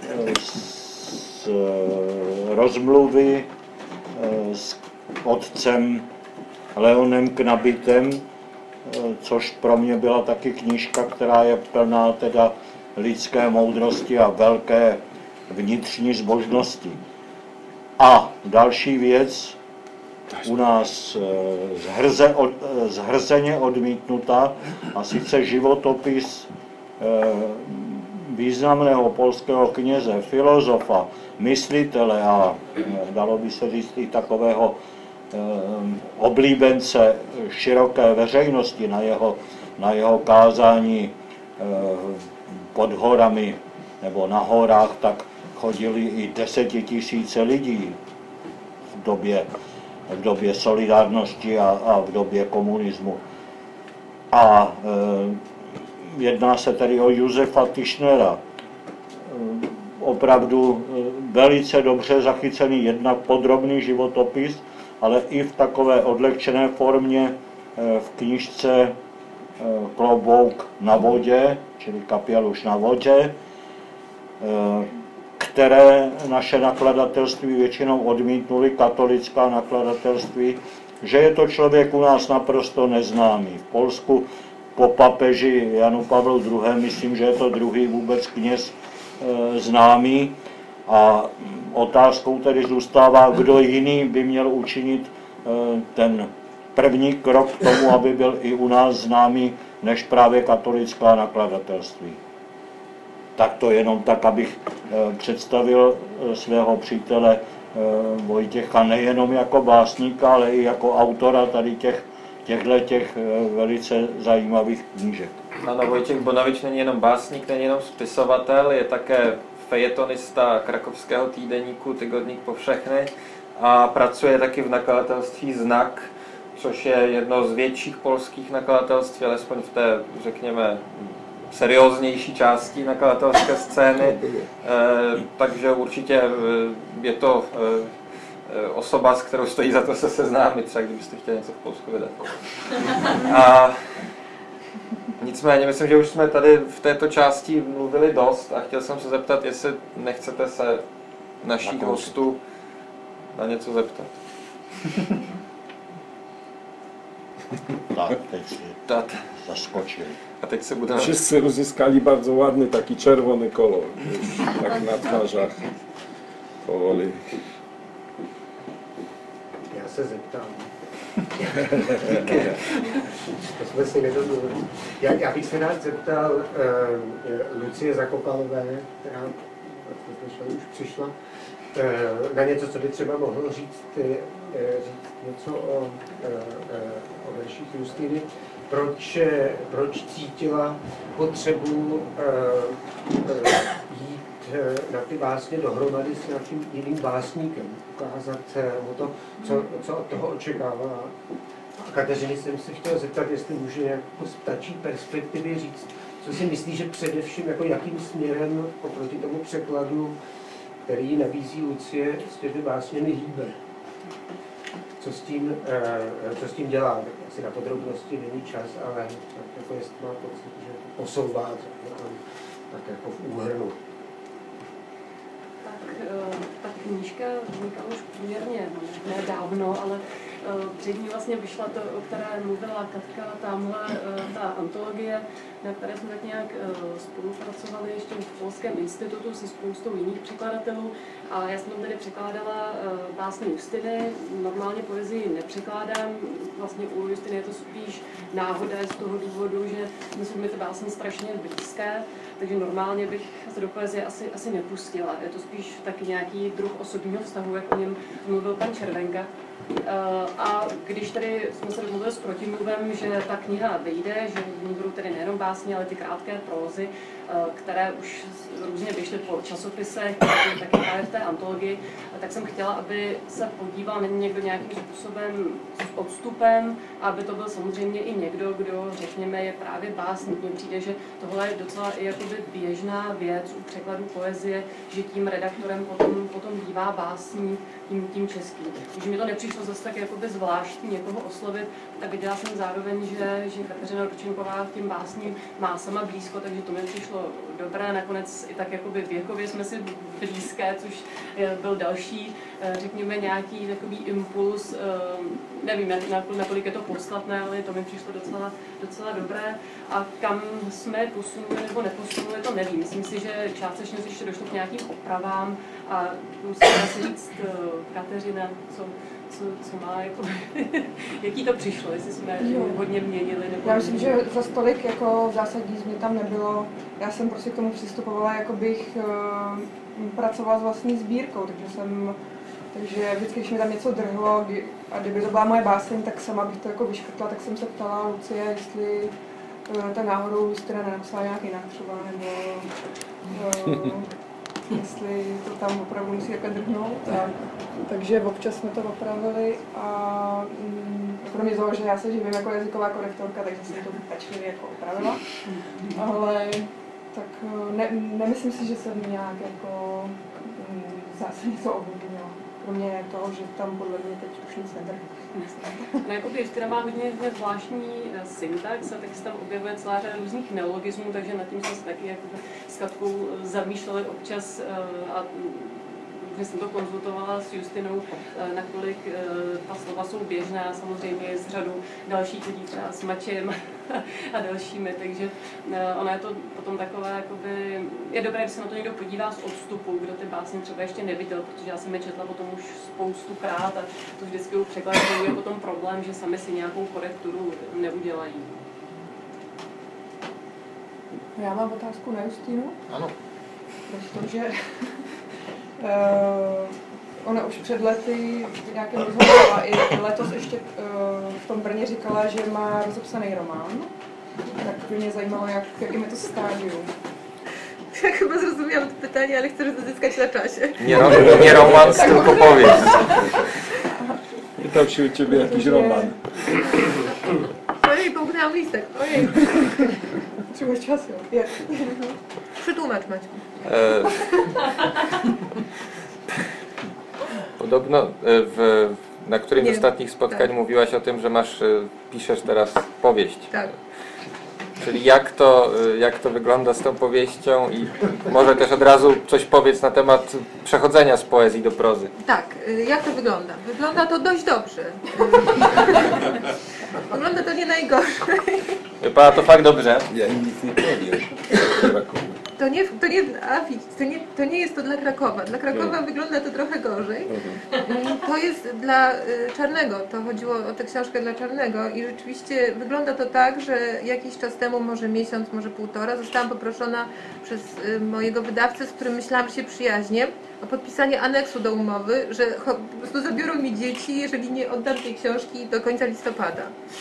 z e, rozmluvy e, s otcem Leonem Knabitem, e, což pro mě byla taky knížka, která je plná teda lidské moudrosti a velké vnitřní zbožnosti. A další věc, u nás zhrze, od, zhrzeně odmítnutá, a sice životopis významného polského kněze, filozofa, myslitele a dalo by se říct i takového oblíbence široké veřejnosti na jeho, na jeho kázání pod horami nebo na horách, tak chodili i desetitisíce lidí v době, v době solidárnosti a, a v době komunismu. A e, jedná se tedy o Josefa Tischnera. E, opravdu e, velice dobře zachycený jednak podrobný životopis, ale i v takové odlehčené formě e, v knížce e, Klobouk na vodě, čili Kapialuš na vodě, e, které naše nakladatelství většinou odmítnuli, katolická nakladatelství, že je to člověk u nás naprosto neznámý. V Polsku po papeži Janu Pavlu druhém. myslím, že je to druhý vůbec kněz e, známý. A otázkou tedy zůstává, kdo jiný by měl učinit e, ten první krok k tomu, aby byl i u nás známý, než právě katolická nakladatelství. Tak to jenom tak, abych představil svého přítele Vojtěcha nejenom jako básníka, ale i jako autora tady těch, těchto těch velice zajímavých knížek. Ano, Vojtěch Bonavič není jenom básník, není jenom spisovatel, je také fejetonista krakovského týdeníku Tygodník Powszechny a pracuje taky v nakladatelství Znak, což je jedno z větších polských nakladatelství, alespoň v té, řekněme, serióznější části nakladatelské scény, e, takže určitě je to e, osoba, s kterou stojí za to se seznámit, třeba kdybyste chtěli něco v Polsku vydat. A nicméně, myslím, že už jsme tady v této části mluvili dost a chtěl jsem se zeptat, jestli nechcete se našich hostů na něco zeptat. Tak, teď si zaskočili. A teď se budeme... Wszyscy uzyskali bardzo ładny taki czerwony kolor, tak na twarzach powoli. Já se zeptám. To jsme si nedomluvili. Já, já bych se rád zeptal uh, Lucie Zakopalové, která už přišla, uh, na něco, co by třeba mohl říct, uh, říct něco o, uh, uh, o verších Justiny. Proč, proč cítila potřebu uh, uh, jít uh, na ty básně dohromady s nějakým jiným básníkem, ukázat mu to, co, co od toho očekává. A Kateřiny jsem se chtěl zeptat, jestli může jako z ptačí perspektivy říct, co si myslí, že především jako jakým směrem oproti tomu překladu, který nabízí Lucie, s těmi básněmi hýbe. co s tím, co s tím dělá. Asi na podrobnosti není čas, ale tak jako jestli má pocit, že to posouvá tak jako v úhrnu. Tak ta knížka vznikla už poměrně nedávno, ale před ní vlastně vyšla to, o které mluvila Katka, tamhle ta antologie, na které jsme tak nějak spolupracovali ještě v Polském institutu se spoustou jiných překladatelů. A já jsem tam tady překládala básně Justiny, normálně poezii nepřekládám, vlastně u Justiny je to spíš náhoda z toho důvodu, že myslím, mi ty básně strašně blízké, takže normálně bych se do poezie asi, asi nepustila. Je to spíš taky nějaký druh osobního vztahu, jak o něm mluvil pan Červenka. A když tady jsme se domluvili s protimluvem, že ta kniha vyjde, že v ní budou tedy nejenom básně, ale ty krátké prózy, které už různě vyšly po časopisech, taky právě v té antologii, tak jsem chtěla, aby se podíval na někdo nějakým způsobem s odstupem, aby to byl samozřejmě i někdo, kdo, řekněme, je právě básník. Mně přijde, že tohle je docela i jakoby běžná věc u překladu poezie, že tím redaktorem potom, potom bývá básník, tím, tím českým. Takže mi to nepřišlo zase tak jakoby zvláštní někoho oslovit a viděla jsem zároveň, že, že Kateřina Ručenková k těm básním má sama blízko, takže to mi přišlo dobré. Nakonec i tak jakoby věkově jsme si blízké, což byl další, řekněme, nějaký takový impuls. Nevím, nakolik je to podstatné, ale to mi přišlo docela, docela dobré. A kam jsme posunuli nebo neposunuli, to nevím. Myslím si, že částečně ještě došlo k nějakým opravám a musím asi říct Kateřina, co, co, co má, jako, jaký to přišlo, jestli jsme jo. hodně měnili. Nebo já myslím, že za stolik jako zásadní změn tam nebylo. Já jsem prostě k tomu přistupovala, jako bych uh, pracovala s vlastní sbírkou, takže jsem, takže vždycky, když mi tam něco drhlo kdy, a kdyby to byla moje báseň, tak sama bych to jako vyškrtla, tak jsem se ptala Lucie, jestli uh, ta náhodou Justina nenapsala nějak jinak třeba, nebo uh, jestli to tam opravdu musí jako drhnout. A, takže občas jsme to opravili a mm, kromě toho, že já se živím jako jazyková korektorka, takže jsem to pečlivě jako opravila. Ale tak ne, nemyslím si, že jsem nějak jako mm, zásadně to ovlivnila. Kromě toho, že tam podle mě teď už nic nedrhne. No, jakoby Justina má hodně, hodně zvláštní syntax a taky se tam objevuje celá řada různých neologismů, takže nad tím jsme se taky jako s Katkou zamýšleli občas a že jsem to konzultovala s Justinou, nakolik ta slova jsou běžná, samozřejmě s řadou dalších lidí, třeba s Mačem a dalšími, takže ona je to potom takové, jakoby, je dobré, když se na to někdo podívá z odstupu, kdo ty básně třeba ještě neviděl, protože já jsem je četla potom už spoustukrát a to vždycky u překladatelů je potom problém, že sami si nějakou korekturu neudělají. Já mám otázku na Justinu. Ano. Protože Uh, ona už před lety v nějakém rozhovoru a i letos ještě uh, v tom Brně říkala, že má rozepsaný román. Tak by mě zajímalo, jak, jakým je to stádium. Já chyba zrozumiałam to pytanie, ale chcę zyskać na czasie. Nie, nie romans, tylko powieść. Pytał się u ciebie jakiś roman. Ojej, połknęłam listek. Ojej. Potrzebujesz czasu. Jak? Przetłumacz, Maćku. E, podobno w, na którymś z ostatnich spotkań tak. mówiłaś o tym, że masz, piszesz teraz powieść. Tak. Czyli jak to, jak to wygląda z tą powieścią i może też od razu coś powiedz na temat przechodzenia z poezji do prozy. Tak, jak to wygląda? Wygląda to dość dobrze. Wygląda to nie najgorzej. Wie pana, to fakt dobrze. Ja nic nie powiem. To nie, to, nie, a, to, nie, to nie jest to dla Krakowa. Dla Krakowa no. wygląda to trochę gorzej. Mhm. To jest dla y, Czarnego. To chodziło o tę książkę dla Czarnego i rzeczywiście wygląda to tak, że jakiś czas temu, może miesiąc, może półtora, zostałam poproszona przez y, mojego wydawcę, z którym myślałam, że się przyjaźnię, o podpisanie aneksu do umowy, że po prostu zabiorą mi dzieci, jeżeli nie oddam tej książki do końca listopada.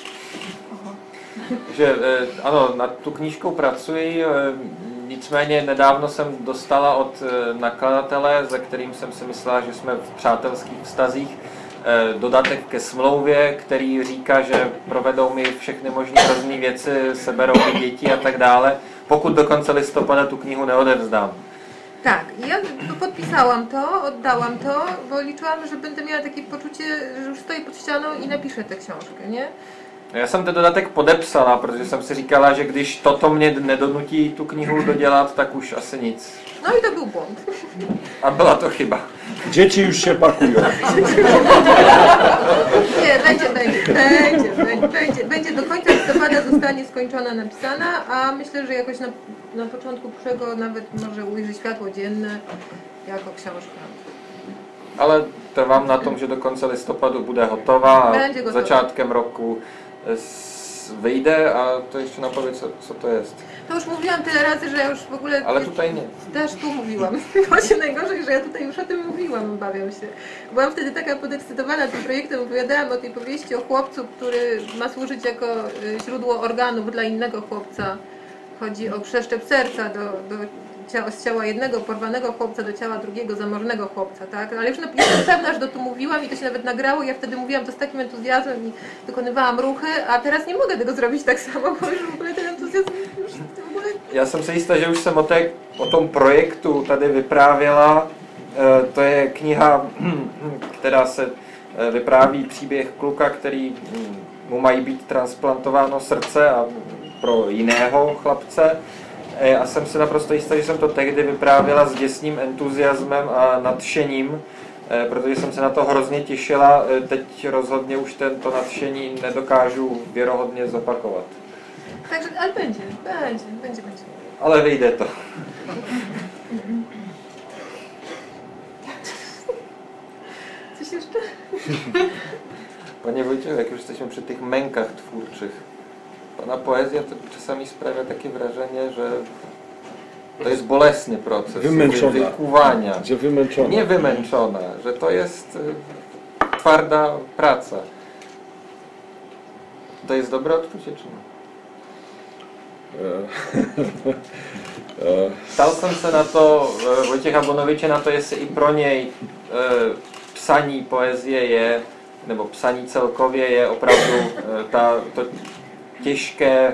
Že ano, nad tu knížkou pracuji, nicméně nedávno jsem dostala od nakladatele, se kterým jsem si myslela, že jsme v přátelských vztazích, dodatek ke smlouvě, který říká, že provedou mi všechny možné hrozné věci, seberou mi děti a tak dále, pokud do konce listopada tu knihu neodevzdám. Tak, ja podpisałam to, oddałam to, bo liczyłam, że będę miała takie poczucie, że już stoję pod ścianą i napiszę tę książkę, nie? Já jsem ten dodatek podepsala, protože jsem si říkala, že když toto mě nedonutí tu knihu dodělat, tak už asi nic. No i to był błąd. A byla to chyba. Dzieci już się pakują. Nie, będzie, będzie, będzie, będzie, będzie, będzie do końca listopada zostanie skończona, napisana, a myślę, że jakoś na, na początku przyszłego nawet może ujrzy światło dzienne jako książka. Ale trvám na tom, že do konce listopadu bude hotová a začátkem roku wyjdzie, a to jeszcze napowie, co, co to jest. To już mówiłam tyle razy, że ja już w ogóle... Ale tutaj nie. Też tu mówiłam. Właśnie najgorzej, że ja tutaj już o tym mówiłam, obawiam się. Byłam wtedy taka podekscytowana tym projektem, opowiadałam o tej powieści o chłopcu, który ma służyć jako źródło organów dla innego chłopca. Chodzi o przeszczep serca do, do ciała, z ciała jednego porwanego chłopca do ciała drugiego zamożnego chłopca, tak? Ale już jestem pewna, że to tu mówiłam i to się nawet nagrało. Ja wtedy mówiłam to z takim entuzjazmem i wykonywałam ruchy, a teraz nie mogę tego zrobić tak samo, bo już w ogóle ten entuzjazm już w ogóle... Já jsem si jistá, že už jsem o, té, o tom projektu tady vyprávěla. To je kniha, která se vypráví příběh kluka, který mu mají být transplantováno srdce a pro jiného chlapce. A jsem si naprosto jistá, že jsem to tehdy vyprávěla s děsným entuziasmem a nadšením, protože jsem se na to hrozně těšila. Teď rozhodně už tento nadšení nedokážu věrohodně zopakovat. Takže, ale będzie, będzie, będzie, będzie. Ale vyjde to. Coś jeszcze? Panie Wojciechu, jak już jesteśmy przy tych mękach twórczych, pana poezja to czasami sprawia takie wrażenie, że to jest bolesny proces wymęczona. wykuwania. Że wymęczona. Nie wymęczona, że to jest y, twarda praca. To jest dobre odczucie, czy nie? Ptal jsem se na to Vojtěcha Bonoviče, na to, jestli i pro něj psaní poezie je, nebo psaní celkově je opravdu ta, to těžké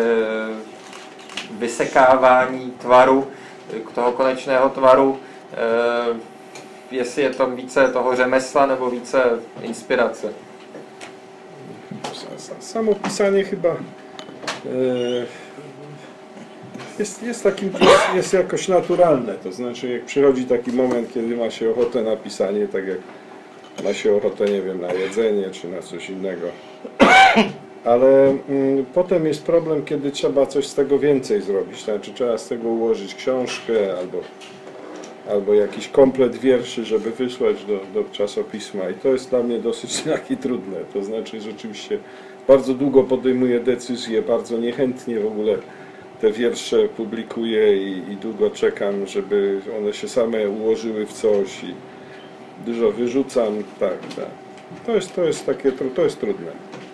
vysekávání tvaru, toho konečného tvaru, jestli je tam více toho řemesla nebo více inspirace. Samo pisanie chyba Jest, jest, takim, jest jakoś naturalne, to znaczy jak przychodzi taki moment, kiedy ma się ochotę na pisanie, tak jak ma się ochotę, nie wiem, na jedzenie czy na coś innego. Ale mm, potem jest problem, kiedy trzeba coś z tego więcej zrobić, znaczy trzeba z tego ułożyć książkę albo, albo jakiś komplet wierszy, żeby wysłać do, do czasopisma i to jest dla mnie dosyć takie trudne, to znaczy rzeczywiście bardzo długo podejmuję decyzje, bardzo niechętnie w ogóle te wiersze publikuję i, i długo czekam, żeby one się same ułożyły w coś i dużo wyrzucam, tak, tak. To jest, to jest takie, to jest trudne.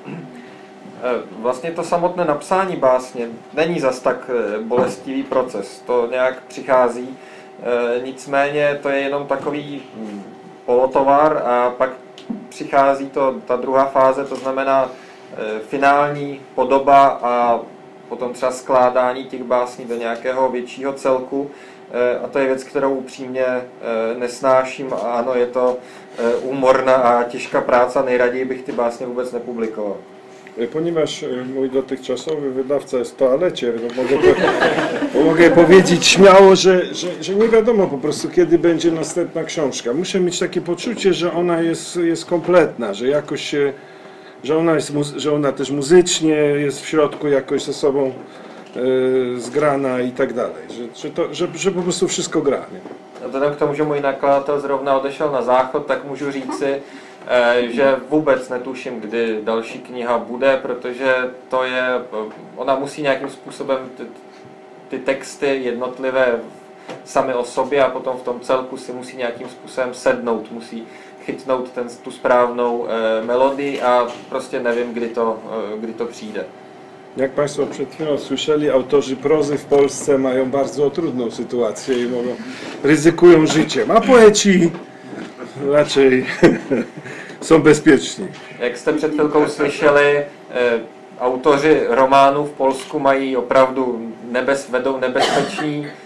Vlastně to samotné napsání básně není zas tak bolestivý proces, to nějak přichází, nicméně to je jenom takový polotovar a pak přichází to, ta druhá fáze, to znamená finální podoba a potom třeba skládání těch básní do nějakého většího celku. A to je věc, kterou upřímně nesnáším. A ano, je to úmorná a těžká práce, nejraději bych ty básně vůbec nepublikoval. Ponieważ mój dotychczasowy wydawca jest w toalecie, to mogę, po, mogę powiedzieć śmiało, że, że, że nie wiadomo po prostu, kiedy będzie następna książka. Muszę mieć takie poczucie, że ona jest, jest kompletna, że jakoś się, że ona, jest, że ona też muzycznie jest w środku jakoś ze sobą e, zgrana i tak dalej, że, że, to, że, że po prostu wszystko gra. Nie? Vzhledem k tomu, že můj nakladatel zrovna odešel na záchod, tak můžu říci, že vůbec netuším, kdy další kniha bude, protože to je, ona musí nějakým způsobem ty, ty texty jednotlivé sami o sobě a potom v tom celku si musí nějakým způsobem sednout, musí chytnout ten, tu správnou e, melodii a prostě nevím, kdy to, e, kdy to přijde. Jak Państwo przed chwilą słyszeli, autorzy prozy w Polsce mają bardzo trudną sytuację i mogą, ryzykują życiem, a poeci raczej są bezpieczni. Jak jste před chvilkou slyšeli, e, autoři románů v Polsku mají opravdu nebez, vedou nebezpečný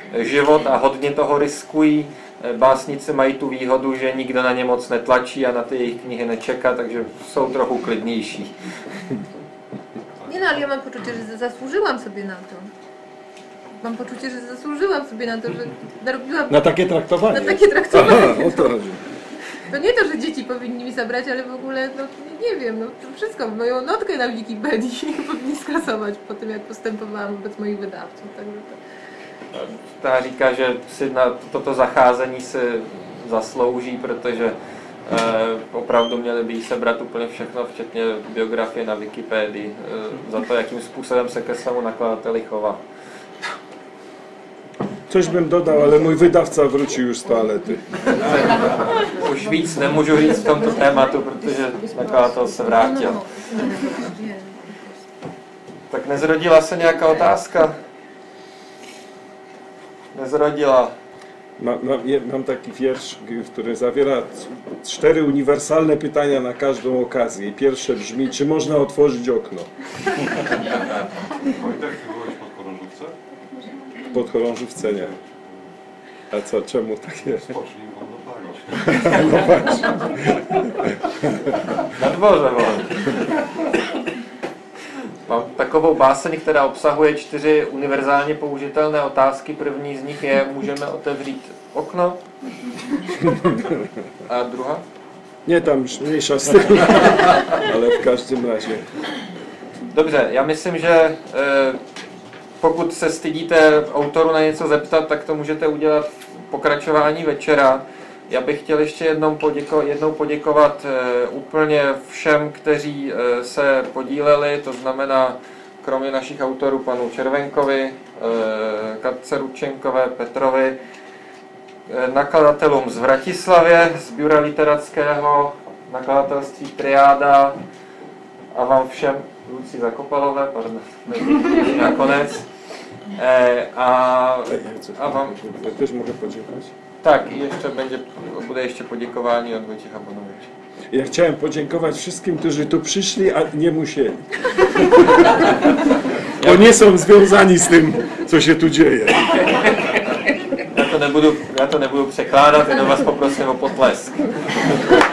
život a hodně toho riskují. Básnice mají tu výhodu, že nikdo na ně moc netlačí a na ty jejich knihy nečeká, takže jsou trochu klidnější. Nie no, ale ja mam poczucie, że zasłużyłam sobie na to. Mam poczucie, że zasłużyłam sobie na to, że narobiłam... Na takie traktowanie. Na takie traktowanie. Aha, o to chodzi. To nie to, że dzieci powinni mi zabrać, ale w ogóle, no nie wiem, no to wszystko, moją notkę na Wikipedii powinni skasować po tym, jak postępowałam wobec moich wydawców. Także to... Ta říká, že si na toto zacházení se zaslouží, protože eh, opravdu měli by jí sebrat úplně všechno, včetně biografie na Wikipedii, eh, za to, jakým způsobem se ke svému nakladateli chová. Coś bym dodał, ale mój wydawca wrócił już z toalety. Už víc nemůžu říct v tomto tématu, protože nakladatel se vrátil. Tak nezrodila se nějaká otázka? Nezrodila. Mam, mam, je- mam taki wiersz, g- który zawiera c- cztery uniwersalne pytania na każdą okazję. I pierwsze brzmi, czy można otworzyć okno? Wojtek, ty byłeś pod Chorążówce? Pod chorążówce nie. A co, czemu tak jest? Spocznij wam dopalić. No właśnie. Na dvorze, vole. Mám takovou báseň, která obsahuje čtyři univerzálně použitelné otázky. První z nich je, můžeme otevřít okno? A druhá? Nie, tam już mniejsza z tym. Ale w każdym razie. Dobře, já myslím, že eh, pokud se stydíte autoru na něco zeptat, tak to můžete udělat v pokračování večera. Já bych chtěl ještě jednou, poděko, jednou poděkovat eh, úplně všem, kteří eh, se podíleli, to znamená kromě našich autorů panu Červenkovi, eh, Katce Rudčenkové, Petrovi, eh, nakladatelům z Vratislavě, z Bura literatského, nakladatelství Triáda a vám všem, Lucí Zakopalové, pardon, nakonec. Eh, a, a vám... Ja też mogę podziękować. Tak, i jeszcze będzie, bude jeszcze podziękowanie od Wojciecha Bonowicza. Ja chciałem podziękować wszystkim, którzy tu przyszli, a nie musieli. Bo nie są związani z tym, co się tu dzieje. Já to nebudu, já to nebudu překládat, jenom vás poprosím o potlesk.